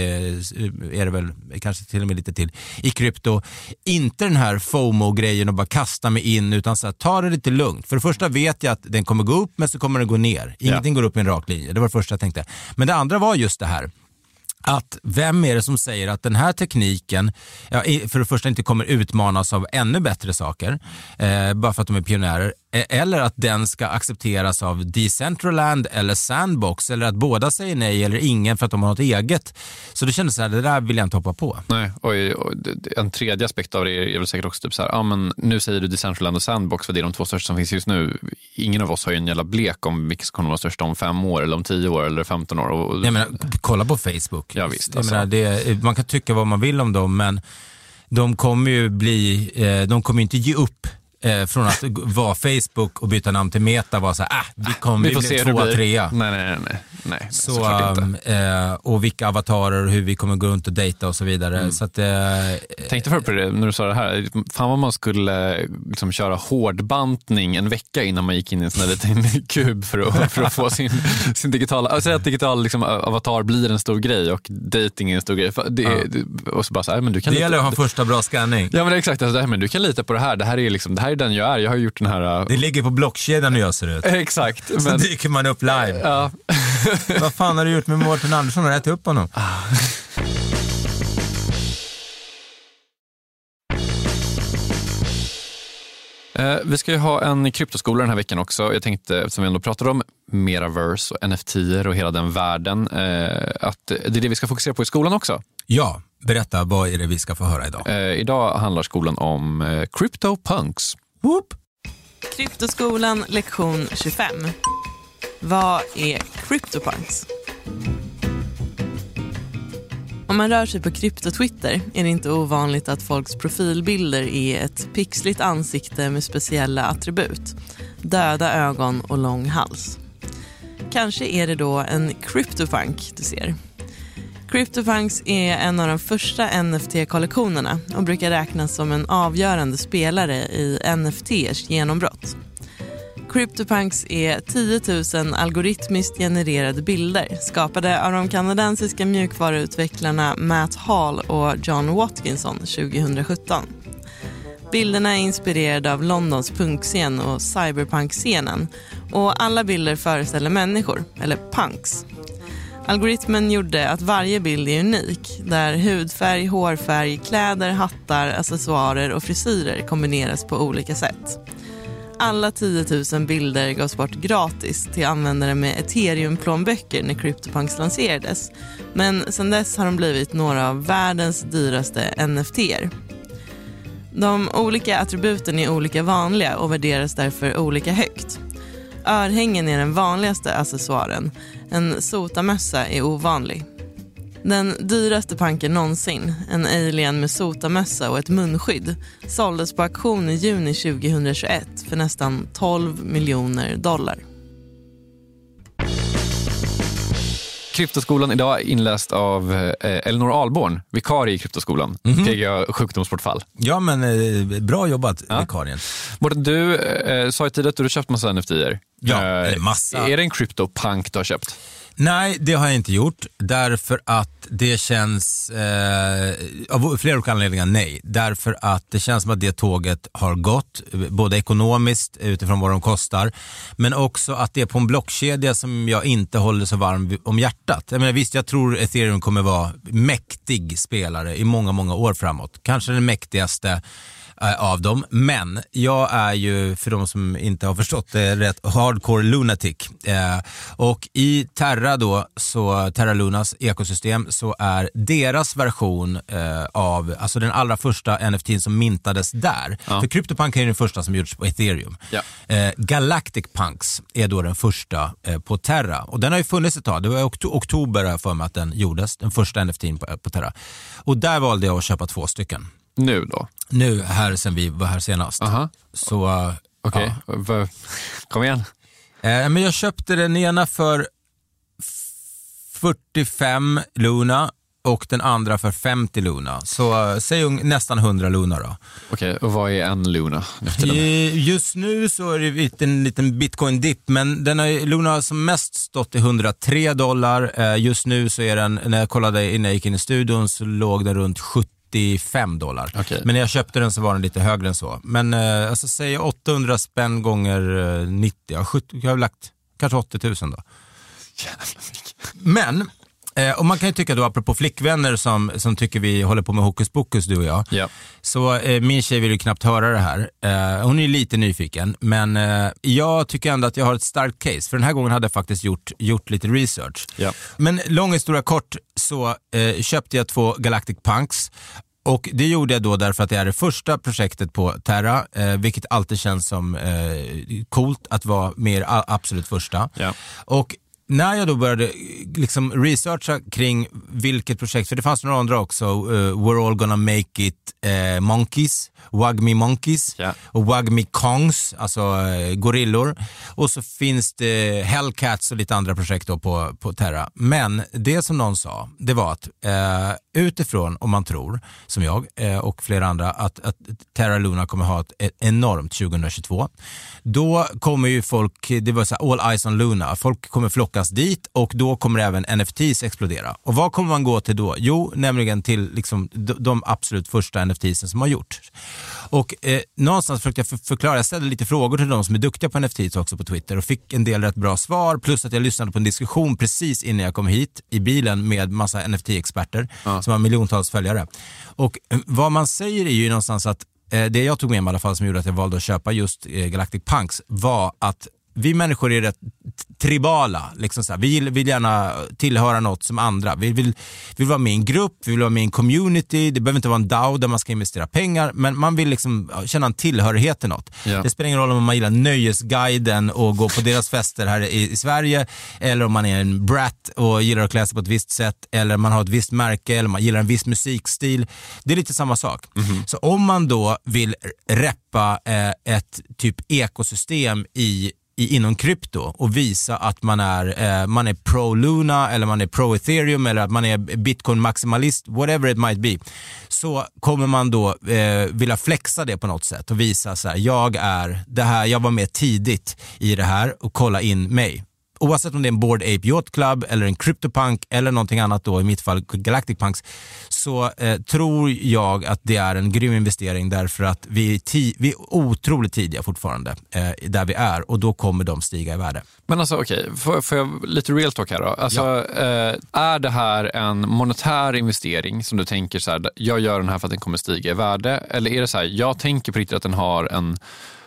är det väl kanske till och med lite till i krypto, inte den här FOMO-grejen och bara kasta mig in, utan så här, ta det lite lugnt. För det första vet jag att den kommer gå upp, men så kommer den gå ner. Ingenting ja. går upp i en rak linje, det var det första jag tänkte. Men det andra var just det här att vem är det som säger att den här tekniken, ja, för det första inte kommer utmanas av ännu bättre saker, eh, bara för att de är pionjärer, eller att den ska accepteras av Decentraland eller Sandbox, eller att båda säger nej eller ingen för att de har något eget. Så det kändes så här, det där vill jag inte hoppa på. Nej, och, och en tredje aspekt av det är väl säkert också typ så här, ja men nu säger du Decentraland och Sandbox för det är de två största som finns just nu. Ingen av oss har ju en jävla blek om vilka som kommer vara största om fem år eller om tio år eller femton år. Och, jag menar, kolla på Facebook. Ja, visst, alltså. Jag menar, det, man kan tycka vad man vill om dem, men de kommer ju bli, eh, de kommer inte ge upp eh, från att vara Facebook och byta namn till Meta, var så här, ah, vi kommer vi bli tvåa, trea. Nej, nej, nej. nej så, um, eh, och vilka avatarer och hur vi kommer gå runt och dejta och så vidare. Mm. Så att, eh, tänkte för på det när du sa det här. Fan vad man skulle liksom köra hårdbantning en vecka innan man gick in i en sån där liten kub för att, för att få sin, sin digitala, alltså att digital liksom, avatar blir en stor grej och dating är en stor grej. Det, ja. det, och så bara så här, men du kan det lita, gäller att ha första bra scanning. Ja, men det är exakt. Alltså, det här, men du kan lita på det här. Det här är liksom, det här är den jag är. Jag har gjort den här... Det ligger på blockkedjan hur jag ser ut. Exakt. Så men... dyker man upp live. Ja. Vad fan har du gjort med Mårten Andersson? Har du ätit upp honom? Eh, vi ska ju ha en kryptoskola den här veckan också. Jag tänkte, eftersom vi ändå pratar om Metaverse och N F T och hela den världen, eh, att det är det vi ska fokusera på i skolan också. Ja, berätta, vad är det vi ska få höra idag? Eh, idag handlar skolan om eh, CryptoPunks. Whoop. Kryptoskolan lektion tjugofem. Vad är CryptoPunks? Om man rör sig på krypto-Twitter är det inte ovanligt att folks profilbilder är ett pixligt ansikte med speciella attribut. Döda ögon och lång hals. Kanske är det då en CryptoPunk du ser. CryptoPunks är en av de första N F T-kollektionerna och brukar räknas som en avgörande spelare i N F T:s genombrott. CryptoPunks är tio tusen algoritmiskt genererade bilder skapade av de kanadensiska mjukvaruutvecklarna Matt Hall och John Watkinson tjugohundrasjutton. Bilderna är inspirerade av Londons punkscen och cyberpunk-scenen och alla bilder föreställer människor, eller punks. Algoritmen gjorde att varje bild är unik, där hudfärg, hårfärg, kläder, hattar, accessoarer och frisyrer kombineras på olika sätt. Alla tio tusen bilder gavs bort gratis till användare med Ethereum-plånböcker när CryptoPunks lanserades. Men sedan dess har de blivit några av världens dyraste N F T-er. De olika attributen är olika vanliga och värderas därför olika högt. Örhängen är den vanligaste accessoaren. En sotamössa är ovanlig. Den dyraste punken någonsin, en alien med sotamössa och ett munskydd, såldes på auktion i juni tjugohundratjugoett för nästan tolv miljoner dollar. Kryptoskolan idag är inläst av eh, Elinor Alborn, vikarie i Kryptoskolan. Mm-hmm. P G A sjukdomsbortfall. Ja, men eh, bra jobbat, ja. Vikarien. Mårten, du eh, sa ju tidigare att du har köpt massa N F T-er. Ja, eh, massa. Är det en CryptoPunk du har köpt? Nej, det har jag inte gjort, därför att det känns, eh, av flera olika anledningar nej, därför att det känns som att det tåget har gått, både ekonomiskt utifrån vad de kostar, men också att det är på en blockkedja som jag inte håller så varm om hjärtat. Jag menar, visst, jag tror Ethereum kommer vara mäktig spelare i många, många år framåt, kanske den mäktigaste av dem, men jag är ju, för de som inte har förstått det, rätt hardcore lunatic. Eh, och i Terra då, så Terra Lunas ekosystem, så är deras version eh, av, alltså den allra första N F T som mintades där. Ja. För CryptoPunk är den första som gjorts på Ethereum. Ja. Eh, Galactic Punks är då den första eh, på Terra. Och den har ju funnits ett tag. Det var i okt- oktober för mig att den gjordes, den första N F T på, på Terra. Och där valde jag att köpa två stycken. Nu då? Nu, här sen vi var här senast. Aha. Så, uh, okej, okay. Ja. Kom igen. Eh, men jag köpte den ena för fyrtiofem Luna och den andra för femtio Luna. Så uh, säg un- nästan hundra Luna då. Okej, okay. Och vad är en Luna? Just nu så är det en liten bitcoin-dipp, men den har, Luna har som mest stått i hundratre dollar. Eh, just nu så är den, när jag kollade innan jag gick in i studion, så låg den runt sjuttiofem dollar. Okay. Men när jag köpte den så var den lite högre än så. Men eh, alltså säg åttahundra spänn gånger eh, nittio. Ja, sjuttio, jag har lagt kanske åttio tusen då. Men eh, och man kan ju tycka då, apropå flickvänner som, som tycker vi håller på med hokus pokus, du och jag. Yeah. Så eh, min tjej vill ju knappt höra det här. Eh, hon är lite nyfiken. Men eh, jag tycker ändå att jag har ett starkt case. För den här gången hade jag faktiskt gjort, gjort lite research. Yeah. Men lång historia kort, så eh, köpte jag två Galactic Punks. Och det gjorde jag då därför att det är det första projektet på Terra, eh, vilket alltid känns som eh, coolt att vara mer a- absolut första. Yeah. Och när jag då började liksom researcha kring vilket projekt, för det fanns några andra också, uh, We're All Gonna Make It uh, Monkeys, Wagme Monkeys, yeah. och Wagme Kongs, alltså uh, gorillor. Och så finns det Hellcats och lite andra projekt då på, på Terra. Men det som någon sa, det var att uh, utifrån, om man tror, som jag uh, och flera andra, att, att Terra Luna kommer ha ett, ett enormt tjugohundratjugotvå. Då kommer ju folk, det var så här, all eyes on Luna, folk kommer flocka dit, och då kommer även N F Ts explodera. Och vad kommer man gå till då? Jo, nämligen till liksom de, de absolut första N F Tsen som har gjort. Och eh, någonstans försökte jag för, förklara, jag ställde lite frågor till de som är duktiga på N F Ts också på Twitter och fick en del rätt bra svar, plus att jag lyssnade på en diskussion precis innan jag kom hit i bilen med massa N F T-experter ja. som har miljontals följare. Och eh, vad man säger är ju någonstans att eh, det jag tog med mig i alla fall som gjorde att jag valde att köpa just eh, Galactic Punks var att vi människor är rätt tribala. Liksom så här. Vi vill gärna tillhöra något som andra. Vi vill, vi vill vara med i en grupp, vi vill vara med i en community. Det behöver inte vara en D A O där man ska investera pengar, men man vill liksom känna en tillhörighet till något. Ja. Det spelar ingen roll om man gillar Nöjesguiden och går på deras fester här i, i Sverige, eller om man är en brat och gillar att klä sig på ett visst sätt, eller man har ett visst märke, eller man gillar en viss musikstil. Det är lite samma sak. Mm-hmm. Så om man då vill reppa eh, ett typ ekosystem i I, inom krypto och visa att man är eh, man är pro Luna eller man är pro Ethereum eller att man är Bitcoin maximalist, whatever it might be, så kommer man då eh, vilja flexa det på något sätt och visa så här, jag är det här, jag var med tidigt i det här och kolla in mig. Oavsett om det är en Bored Ape Yacht Club eller en CryptoPunk eller någonting annat då, i mitt fall Galactic Punks, så eh, tror jag att det är en grym investering, därför att vi är, ti- vi är otroligt tidiga fortfarande eh, där vi är, och då kommer de stiga i värde. Men alltså okej, okay, får, får jag lite real talk här då? Alltså, ja. eh, är det här en monetär investering som du tänker så här, jag gör den här för att den kommer stiga i värde, eller är det så här, jag tänker på riktigt att den har en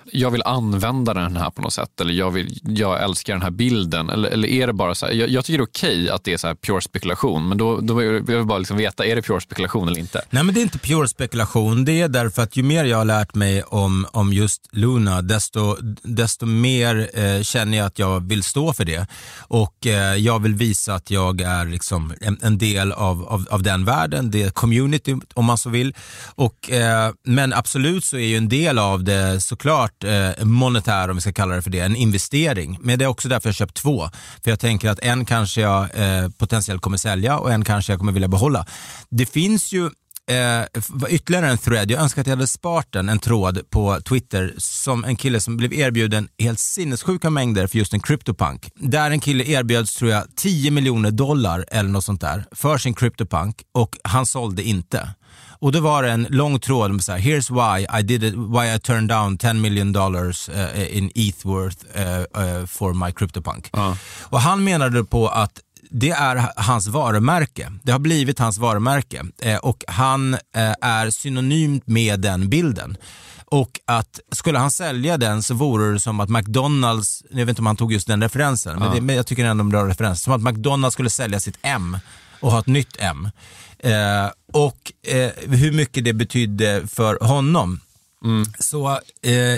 jag vill använda den här på något sätt, eller jag, vill, jag älskar den här bilden, eller, eller är det bara så här, jag, jag tycker det är okej att det är så här pure spekulation, men då, då vill jag bara liksom veta, är det pure spekulation eller inte? Nej, men det är inte pure spekulation, det är därför att ju mer jag har lärt mig om, om just Luna, desto, desto mer eh, känner jag att jag vill stå för det, och eh, jag vill visa att jag är liksom en, en del av, av, av den världen, det community om man så vill, och, eh, men absolut så är ju en del av det såklart eh, monetär, om vi ska kalla det för det, en investering, men det är också därför jag köpt två, för jag tänker att en kanske jag eh, potentiellt kommer sälja och en kanske jag kommer vilja behålla. Det finns ju Eh, ytterligare en thread, jag önskar att jag hade sparat den, en tråd på Twitter som en kille som blev erbjuden helt sinnessjuka mängder för just en CryptoPunk, där en kille erbjöds tror jag tio miljoner dollar eller något sånt där för sin CryptoPunk, och han sålde inte. Och då var det en lång tråd med så här: here's why I did it, why I turned down ten million dollars uh, in E T H worth uh, uh, for my CryptoPunk. Uh. Och han menade på att det är hans varumärke. Det har blivit hans varumärke. Eh, och han eh, är synonymt med den bilden. Och att skulle han sälja den så vore det som att McDonalds, jag vet inte om han tog just den referensen, ja. men, det, men jag tycker ändå en bra referens. Som att McDonalds skulle sälja sitt M och ha ett nytt M. Eh, och eh, hur mycket det betydde för honom. Mm. Så eh,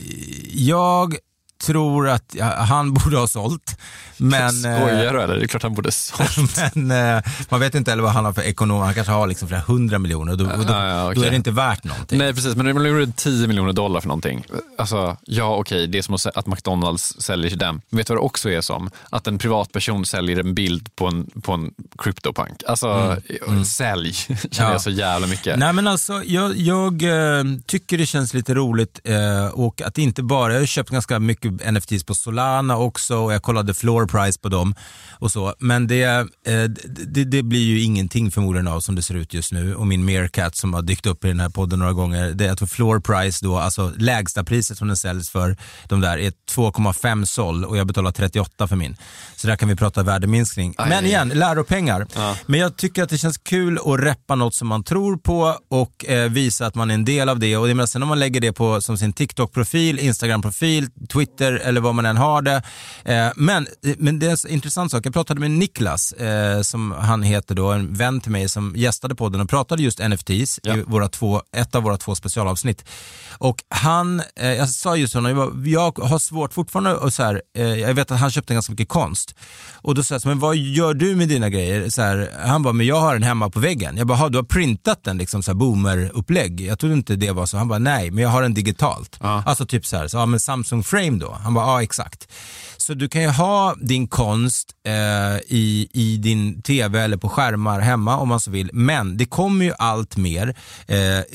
jag tror att ja, han borde ha sålt. Men, skojar du eller? Det är klart han borde ha sålt. Men eh, man vet inte eller vad han har för ekonom. Han kanske har liksom flera hundra miljoner. Då, då, ja, ja, okay. då är det inte värt någonting. Nej, precis. Men det blir tio miljoner dollar för någonting. Alltså, ja okej. Okay, det är som att McDonalds säljer till dem. Men vet du vad det också är som? Att en privatperson säljer en bild på en, på en CryptoPunk. Alltså, mm. Mm. sälj. Känner ja. jag så jävla mycket. Nej, men alltså, jag, jag äh, tycker det känns lite roligt äh, och att inte bara, jag har köpt ganska mycket N F Ts på Solana också, och jag kollade floor price på dem och så, men det, eh, det, det blir ju ingenting förmodligen av som det ser ut just nu, och min Meerkat som har dykt upp i den här podden några gånger, det är att floor price då, alltså lägsta priset som den säljs för de där är två komma fem sol, och jag betalar trettioåtta för min, så där kan vi prata värdeminskning. Aj. Men igen, läropengar. Ja. Men jag tycker att det känns kul att reppa något som man tror på och eh, visa att man är en del av det, och det menar, sen om man lägger det på som sin TikTok-profil, Instagram-profil, Twitter eller vad man än har det. Eh, men, men det är en intressant sak. Jag pratade med Niklas, eh, som han heter då, en vän till mig som gästade podden och pratade just N F Ts ja. i våra två, ett av våra två specialavsnitt. Och han, eh, jag sa just honom, jag, jag har svårt fortfarande och så här, eh, jag vet att han köpte ganska mycket konst. Och då sa jag, men vad gör du med dina grejer? Så här, han bara, men jag har den hemma på väggen. Jag bara, du har printat den liksom så här boomer-upplägg. Jag trodde inte det var så. Han bara, nej, men jag har den digitalt. Ja. Alltså typ så här, så, ja, men Samsung Frame då. Han bara, ja exakt. Så du kan ju ha din konst eh, i, i din tv eller på skärmar hemma om man så vill. Men det kommer ju allt mer eh,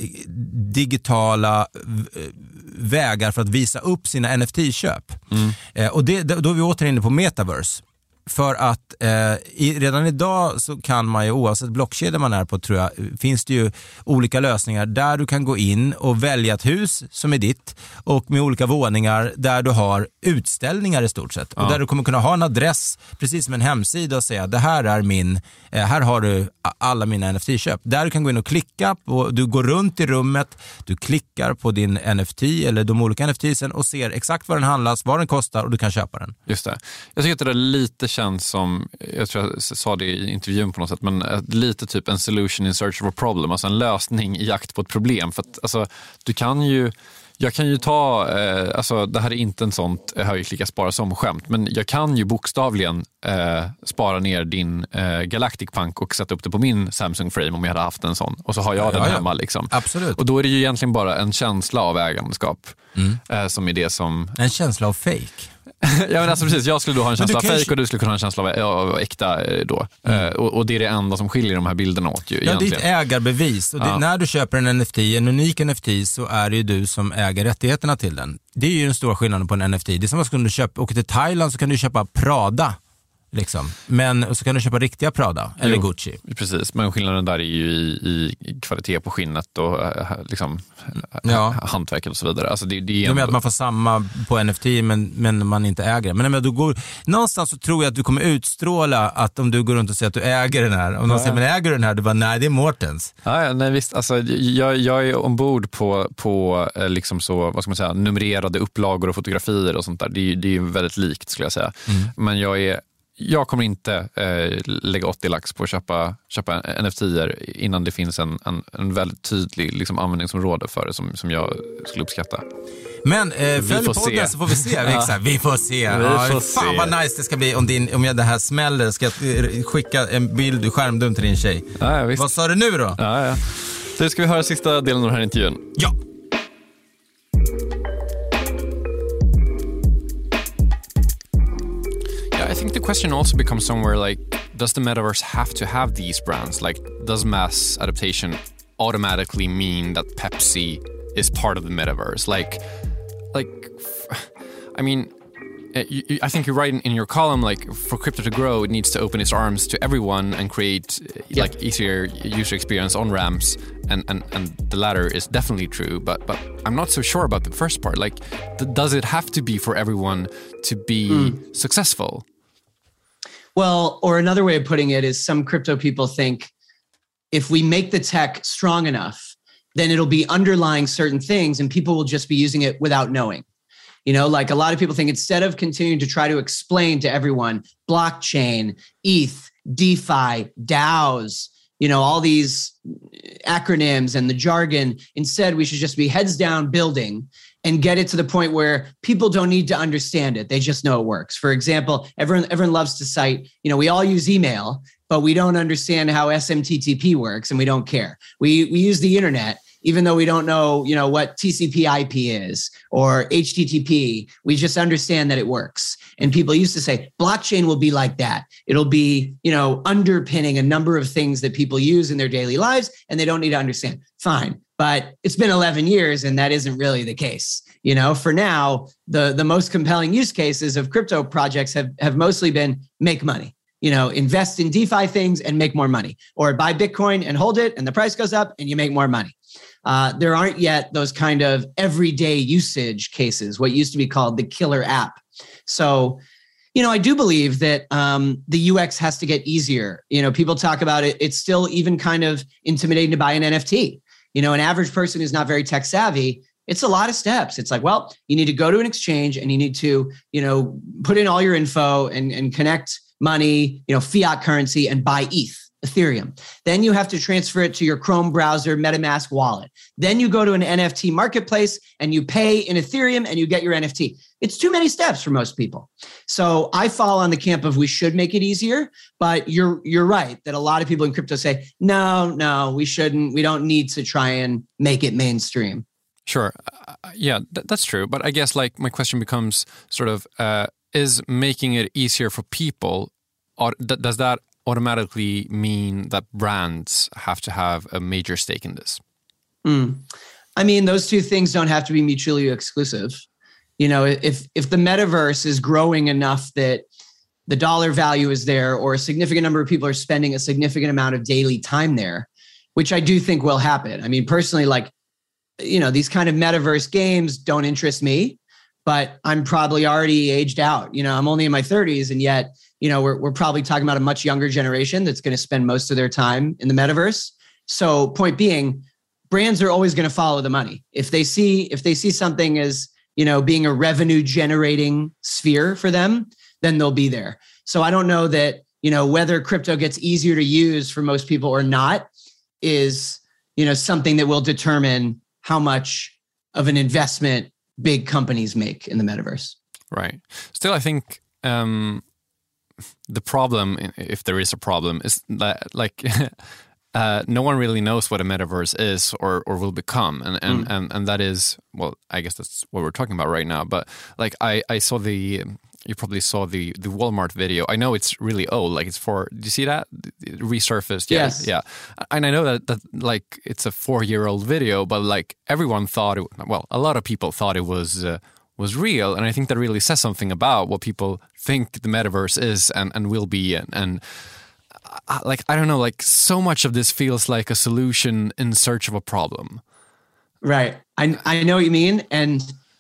digitala v- vägar för att visa upp sina N F T-köp. Mm. Eh, och det, då är vi återigen inne på metaverse. För att eh, i, redan idag så kan man ju, oavsett blockkedja man är på, tror jag, finns det ju olika lösningar där du kan gå in och välja ett hus som är ditt, och med olika våningar där du har utställningar i stort sett. Ja. Och där du kommer kunna ha en adress, precis som en hemsida, och säga det här är min, eh, här har du alla mina N F T-köp. Där du kan gå in och klicka på, du går runt i rummet, du klickar på din N F T eller de olika N F Tsen och ser exakt vad den handlas, vad den kostar, och du kan köpa den. Just det. Jag tycker att det är lite känns som, jag tror jag sa det i intervjun på något sätt, men lite typ en solution in search of a problem, alltså en lösning i jakt på ett problem. För att alltså, du kan ju, jag kan ju ta, eh, alltså det här är inte en sånt höjklicka spara som skämt, men jag kan ju bokstavligen eh, spara ner din eh, Galactic Punk och sätta upp det på min Samsung Frame om jag hade haft en sån, och så har jag ja, den ja, hemma liksom. Absolut. Och då är det ju egentligen bara en känsla av ägandeskap mm. eh, som är det som... En känsla av fake. Ja, men alltså precis, jag skulle då ha en känsla av fake kanske... och du skulle kunna ha en känsla av, av äkta då. Mm. Uh, och, och det är det enda som skiljer de här bilderna åt ju, ja, egentligen. Det är ett ägarbevis. Och det, ja. När du köper en N F T, en unik N F T, så är det ju du som äger rättigheterna till den. Det är ju den stora skillnaden på en N F T. Det är som att du köpa, åker till Thailand så kan du köpa Prada Liksom. Men så kan du köpa riktiga Prada eller jo, Gucci. Precis, men skillnaden där är ju i, i kvalitet på skinnet och liksom, ja. hantverket och så vidare. Alltså det, det är ändå... att man får samma på N F T men, men man inte äger det. Men, men du går, någonstans så tror jag att du kommer utstråla att om du går runt och säger att du äger den här. Om någon ja. säger, men äger du den här? Du bara, nej det är Mårtens. Ja, nej visst. Alltså, jag, jag är ombord på, på liksom så, vad ska man säga, numrerade upplagor och fotografier och sånt där. Det är, det är väldigt likt skulle jag säga. Mm. Men jag är Jag kommer inte eh, lägga åttio lax på att köpa, köpa N F T-er innan det finns en, en, en väldigt tydlig liksom, användningsområde för det som, som jag skulle uppskatta. Men eh, följ podden så får vi se. Ja. Vi får se. Vi ja, får fan se. Vad nice det ska bli om, din, om jag det här smäller. Ska jag skicka en bild i skärmdum till din tjej. Ja, ja, visst. Vad sa du nu då? Ja, ja. Så ska vi höra sista delen av den här intervjun. Ja. I think the question also becomes somewhere like, does the metaverse have to have these brands? Like, does mass adaptation automatically mean that Pepsi is part of the metaverse? Like, like, I mean, you, you, I think you're right in, in your column, like, for crypto to grow, it needs to open its arms to everyone and create, yeah. like, easier user experience on ramps. And, and, and the latter is definitely true, but but I'm not so sure about the first part. Like, th- does it have to be for everyone to be mm. successful? Well, or another way of putting it is some crypto people think if we make the tech strong enough, then it'll be underlying certain things and people will just be using it without knowing. You know, like a lot of people think instead of continuing to try to explain to everyone blockchain, E T H, DeFi, DAOs, you know, all these acronyms and the jargon, instead we should just be heads down building and get it to the point where people don't need to understand it. They just know it works. For example, everyone everyone loves to cite, you know, we all use email, but we don't understand how S M T T P works and we don't care. We we use the internet, even though we don't know, you know, what T C P I P is or H T T P. We just understand that it works. And people used to say, blockchain will be like that. It'll be, you know, underpinning a number of things that people use in their daily lives and they don't need to understand. Fine. But it's been eleven years and that isn't really the case. You know, for now, the, the most compelling use cases of crypto projects have, have mostly been make money, you know, invest in DeFi things and make more money, or buy Bitcoin and hold it and the price goes up and you make more money. Uh, there aren't yet those kind of everyday usage cases, what used to be called the killer app. So, you know, I do believe that um, the U X has to get easier. You know, people talk about it. It's still even kind of intimidating to buy an N F T. You know, an average person who's not very tech savvy, it's a lot of steps. It's like, well, you need to go to an exchange and you need to, you know, put in all your info and, and connect money, you know, fiat currency and buy E T H, Ethereum. Then you have to transfer it to your Chrome browser, MetaMask wallet. Then you go to an N F T marketplace and you pay in Ethereum and you get your N F T. It's too many steps for most people. So I fall on the camp of we should make it easier, but you're you're right that a lot of people in crypto say, no, no, we shouldn't. We don't need to try and make it mainstream. Sure. Uh, yeah, th- that's true. But I guess like my question becomes sort of, uh, is making it easier for people, or th- does that automatically mean that brands have to have a major stake in this? Mm. I mean, those two things don't have to be mutually exclusive. You know, if if the metaverse is growing enough that the dollar value is there, or a significant number of people are spending a significant amount of daily time there, which I do think will happen. I mean, personally, like, you know, these kind of metaverse games don't interest me, but I'm probably already aged out. You know, I'm only in my thirties, and yet, you know, we're we're probably talking about a much younger generation that's going to spend most of their time in the metaverse. So, point being, brands are always going to follow the money. If they see if they see something as, you know, being a revenue generating sphere for them, then they'll be there. So I don't know that, you know, whether crypto gets easier to use for most people or not is, you know, something that will determine how much of an investment big companies make in the metaverse. Right. Still, I think um, the problem, if there is a problem, is that like uh, no one really knows what a metaverse is or or will become, and and, mm. and and that is, well, I guess that's what we're talking about right now. But like I I saw the. You probably saw the the Walmart video. I know it's really old. Like it's for. Did you see that? It resurfaced. Yeah, yes. Yeah. And I know that that like it's a four year old video, but like everyone thought it. Well, a lot of people thought it was uh, was real. And I think that really says something about what people think the metaverse is and, and will be. And, and uh, like, I don't know, like so much of this feels like a solution in search of a problem. Right. I, I know what you mean. And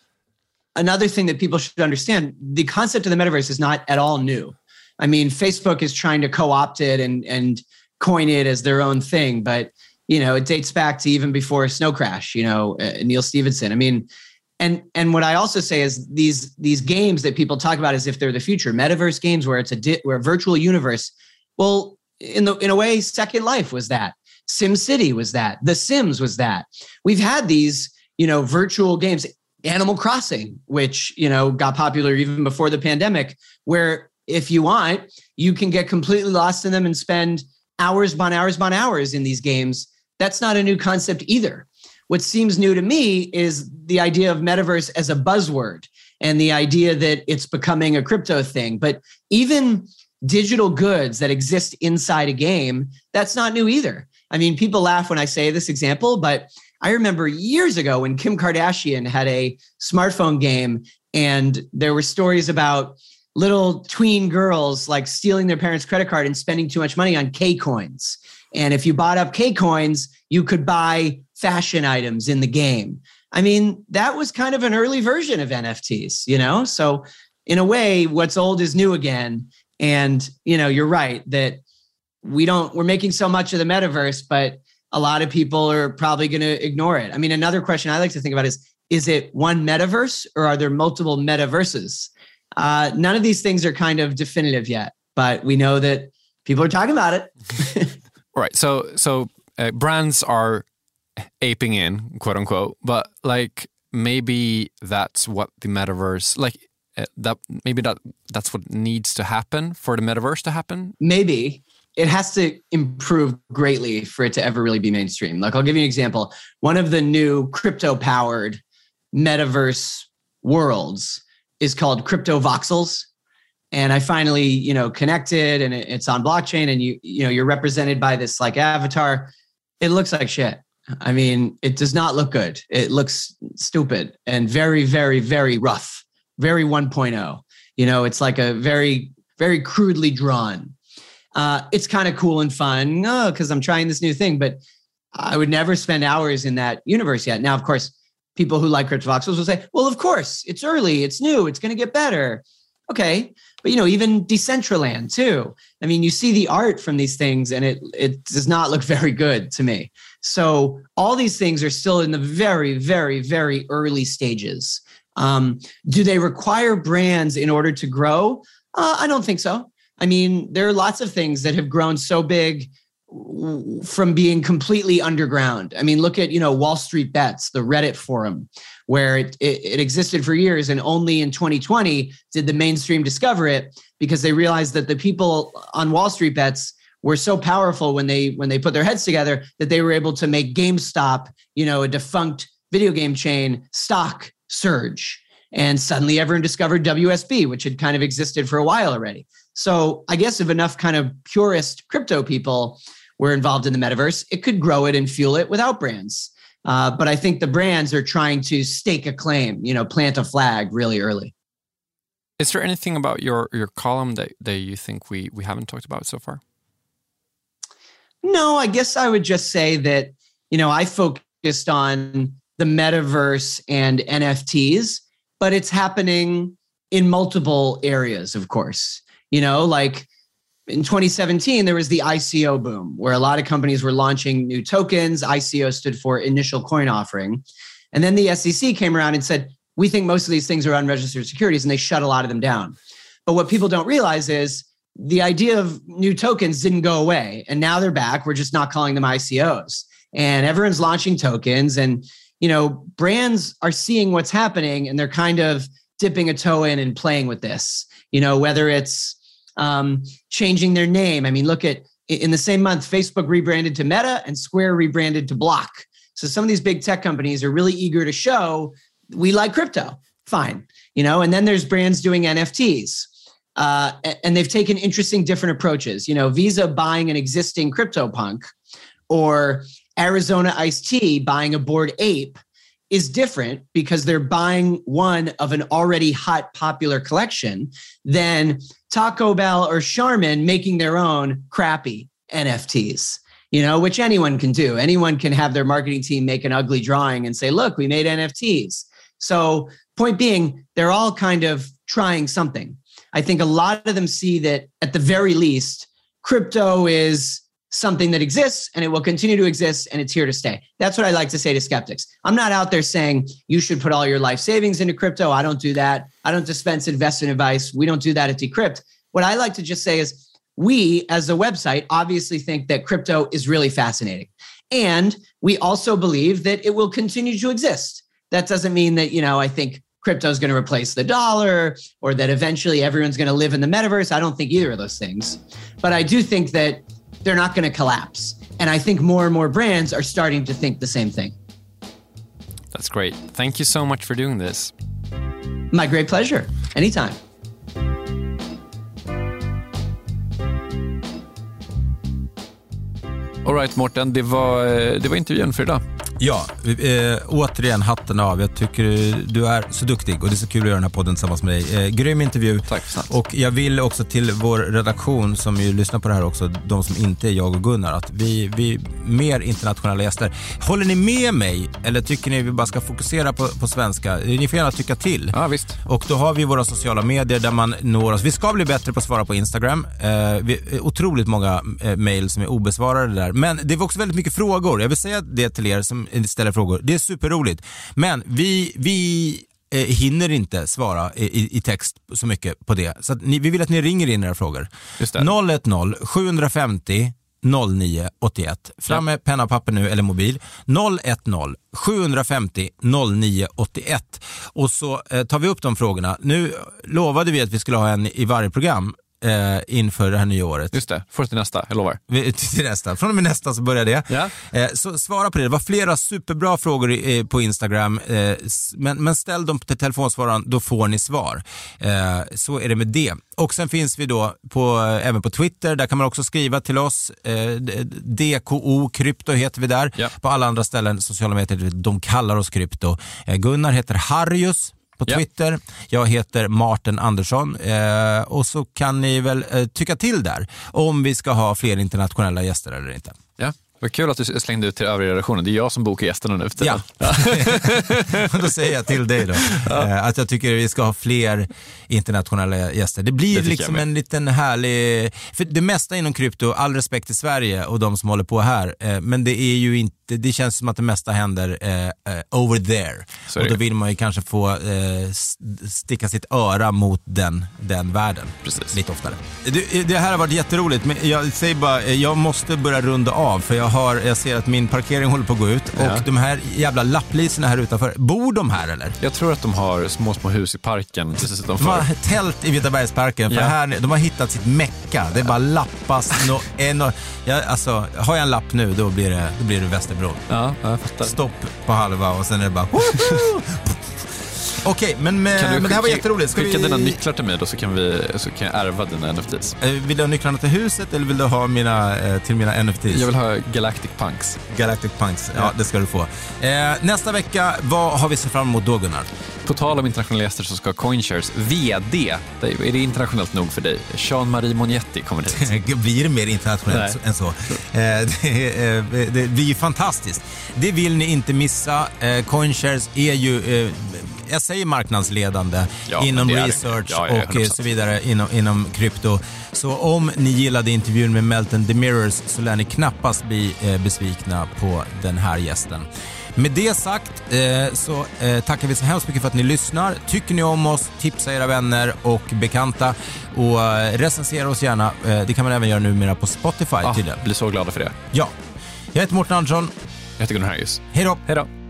another thing that people should understand, the concept of the metaverse is not at all new. I mean, Facebook is trying to co-opt it and, and coin it as their own thing, but you know, it dates back to even before Snow Crash, you know, uh, Neil Stephenson. I mean, and and what I also say is these these games that people talk about as if they're the future, metaverse games where it's a di- where a virtual universe. Well, in the in a way, Second Life was that. SimCity was that. The Sims was that. We've had these, you know, virtual games. Animal Crossing, which you know got popular even before the pandemic, where if you want, you can get completely lost in them and spend hours upon hours upon hours in these games. That's not a new concept either. What seems new to me is the idea of metaverse as a buzzword and the idea that it's becoming a crypto thing. But even digital goods that exist inside a game, that's not new either. I mean, people laugh when I say this example, but I remember years ago when Kim Kardashian had a smartphone game and there were stories about little tween girls like stealing their parents' credit card and spending too much money on K-coins. And if you bought up K-coins, you could buy fashion items in the game. I mean, that was kind of an early version of N F Ts, you know? So in a way, what's old is new again. And, you know, you're right that we don't, we're making so much of the metaverse, but a lot of people are probably going to ignore it. I mean, another question I like to think about is, is it one metaverse or are there multiple metaverses? Uh, none of these things are kind of definitive yet, but we know that people are talking about it. Right. So, so uh, brands are aping in, quote unquote, but like maybe that's what the metaverse, like uh, that, maybe that that's what needs to happen for the metaverse to happen. Maybe it has to improve greatly for it to ever really be mainstream. Like I'll give you an example. One of the new crypto powered metaverse worlds is called Crypto Voxels. And I finally, you know, connected and it's on blockchain and you, you know, you're represented by this like avatar. It looks like shit. I mean, it does not look good. It looks stupid and very, very, very rough, very one point oh. You know, it's like a very, very crudely drawn. Uh, it's kind of cool and fun because oh, I'm trying this new thing, but I would never spend hours in that universe yet. Now, of course, people who like Crypto Voxels will say, well, of course, it's early, it's new, it's going to get better. Okay. But, you know, even Decentraland too. I mean, you see the art from these things and it it does not look very good to me. So all these things are still in the very, very, very early stages. Um, do they require brands in order to grow? Uh, I don't think so. I mean, there are lots of things that have grown so big from being completely underground. I mean, look at, you know, Wall Street Bets, the Reddit forum, where it, it, it existed for years. And only in twenty twenty did the mainstream discover it because they realized that the people on Wall Street Bets were so powerful when they when they put their heads together that they were able to make GameStop, you know, a defunct video game chain, stock surge. And suddenly everyone discovered W S B, which had kind of existed for a while already. So I guess if enough kind of purist crypto people were involved in the metaverse, it could grow it and fuel it without brands. Uh, but I think the brands are trying to stake a claim, you know, plant a flag really early. Is there anything about your, your column that, that you think we, we haven't talked about so far? No, I guess I would just say that, you know, I focused on the metaverse and N F Ts, but it's happening in multiple areas, of course. You know, like in twenty seventeen, there was the I C O boom where a lot of companies were launching new tokens. I C O stood for initial coin offering. And then the S E C came around and said, we think most of these things are unregistered securities, and they shut a lot of them down. But what people don't realize is the idea of new tokens didn't go away. And now they're back. We're just not calling them I C Os. And everyone's launching tokens. And, you know, brands are seeing what's happening and they're kind of dipping a toe in and playing with this, you know, whether it's um, changing their name. I mean, look at in the same month, Facebook rebranded to Meta and Square rebranded to Block. So some of these big tech companies are really eager to show we like crypto. Fine. You know, and then there's brands doing N F Ts. Uh, and they've taken interesting different approaches. You know, Visa buying an existing CryptoPunk or Arizona Iced Tea buying a Bored Ape is different because they're buying one of an already hot, popular collection than Taco Bell or Charmin making their own crappy N F Ts, you know, which anyone can do. Anyone can have their marketing team make an ugly drawing and say, look, we made N F Ts. So point being, they're all kind of trying something. I think a lot of them see that at the very least, crypto is something that exists and it will continue to exist and it's here to stay. That's what I like to say to skeptics. I'm not out there saying you should put all your life savings into crypto. I don't do that. I don't dispense investment advice. We don't do that at Decrypt. What I like to just say is we as a website obviously think that crypto is really fascinating. And we also believe that it will continue to exist. That doesn't mean that, you know, I think crypto is going to replace the dollar or that eventually everyone's going to live in the metaverse. I don't think either of those things. But I do think that they're not going to collapse. And I think more and more brands are starting to think the same thing. That's great. Thank you so much for doing this. My great pleasure. Anytime. All right, Mårten, det var, det var intervjun för idag. Ja, eh, återigen hatten av. Jag tycker du är så duktig och det är så kul att göra den här podden tillsammans med dig. Eh, grym intervju. Tack snabbt. Och jag vill också till vår redaktion som ju lyssnar på det här också, de som inte är jag och Gunnar, att vi, vi mer internationella gäster. Håller ni med mig eller tycker ni vi bara ska fokusera på, på svenska? Ni får gärna tycka till. Ja, visst. Och då har vi våra sociala medier där man når oss. Vi ska bli bättre på att svara på Instagram. Eh, vi, otroligt många eh, mejl som är obesvarade där. Men det var också väldigt mycket frågor. Jag vill säga det till er som ställer frågor. Det är superroligt. Men vi, vi eh, hinner inte svara i, i text så mycket på det. Så att ni, vi vill att ni ringer in era frågor. Just det. noll ett noll sju fem noll noll nio åtta ett. Fram med penna och papper nu eller mobil. noll ett noll sju fem noll noll nio åtta ett. Och så eh, tar vi upp de frågorna. Nu lovade vi att vi skulle ha en i varje program eh, inför det här nya året. Just det, för till nästa, jag lovar. Vi, till nästa. Från och med nästa så börjar det. Ja. Eh, så svara på det. Det var flera superbra frågor i, på Instagram. Eh, men, men ställ dem till telefonsvararen, då får ni svar. Eh, så är det med det. Och sen finns vi då på, även på Twitter. Där kan man också skriva till oss. Eh, D K O Krypto heter vi där. Ja. På alla andra ställen, sociala medier, de kallar oss Krypto. Eh, Gunnar heter Harrius på Twitter. Ja. Jag heter Martin Andersson. Eh, och så kan ni väl eh, tycka till där om vi ska ha fler internationella gäster eller inte. Ja. Vad kul att du slängde ut till övriga redaktionen. Det är jag som bokar gästerna nu efter. Ja. Då säger jag till dig då. Ja. Att jag tycker vi ska ha fler internationella gäster. Det blir det liksom en liten härlig... För det mesta inom krypto, all respekt till Sverige och de som håller på här. Men det är ju inte... Det känns som att det mesta händer eh, over there. Och då vill man ju kanske få eh, sticka sitt öra mot den, den världen. Precis. Lite oftare. Det, det här har varit jätteroligt. Men jag säger bara, jag måste börja runda av. För jag, har, jag ser att min parkering håller på att gå ut. Ja. Och de här jävla lappliserna här utanför. Bor de här eller? Jag tror att de har små, små hus i parken. De har tält i Vitabergsparken. För ja. här, de har hittat sitt mecka. Det är bara lappas. No, no, ja, alltså, har jag en lapp nu, då blir det, då blir det Väster. Ja, jag fattar. Stopp på halva och sen är det bara Okej, men, med, kan du men det här var jätteroligt. Ska skicka vi... dina nycklar till mig då så kan, vi, så kan jag ärva dina N F Ts. Vill du ha nycklarna till huset eller vill du ha mina, till mina N F Ts? Jag vill ha Galactic Punks. Galactic Punks, ja, ja. Det ska du få. Eh, nästa vecka, vad har vi sett fram emot då, Gunnar? På tal om internationella gäster så ska CoinShares V D, är det internationellt nog för dig? Jean-Marie Mognetti kommer dit. Blir det mer internationellt än så? Eh, det, det, det blir ju fantastiskt. Det vill ni inte missa. Eh, CoinShares är ju... Eh, jag säger marknadsledande ja, inom research ja, ja, och så vidare inom, inom krypto. Så om ni gillade intervjun med Melton Demirors så lär ni knappast bli eh, besvikna på den här gästen. Med det sagt eh, så eh, tackar vi så hemskt mycket för att ni lyssnar. Tycker ni om oss, tipsa era vänner och bekanta och eh, recensera oss gärna. Eh, det kan man även göra numera på Spotify ah, tydligen. Blir så glada för det. Ja. Jag heter Mårten Andersson. Jag heter Gunnar Harrius. Hej då. Hej då.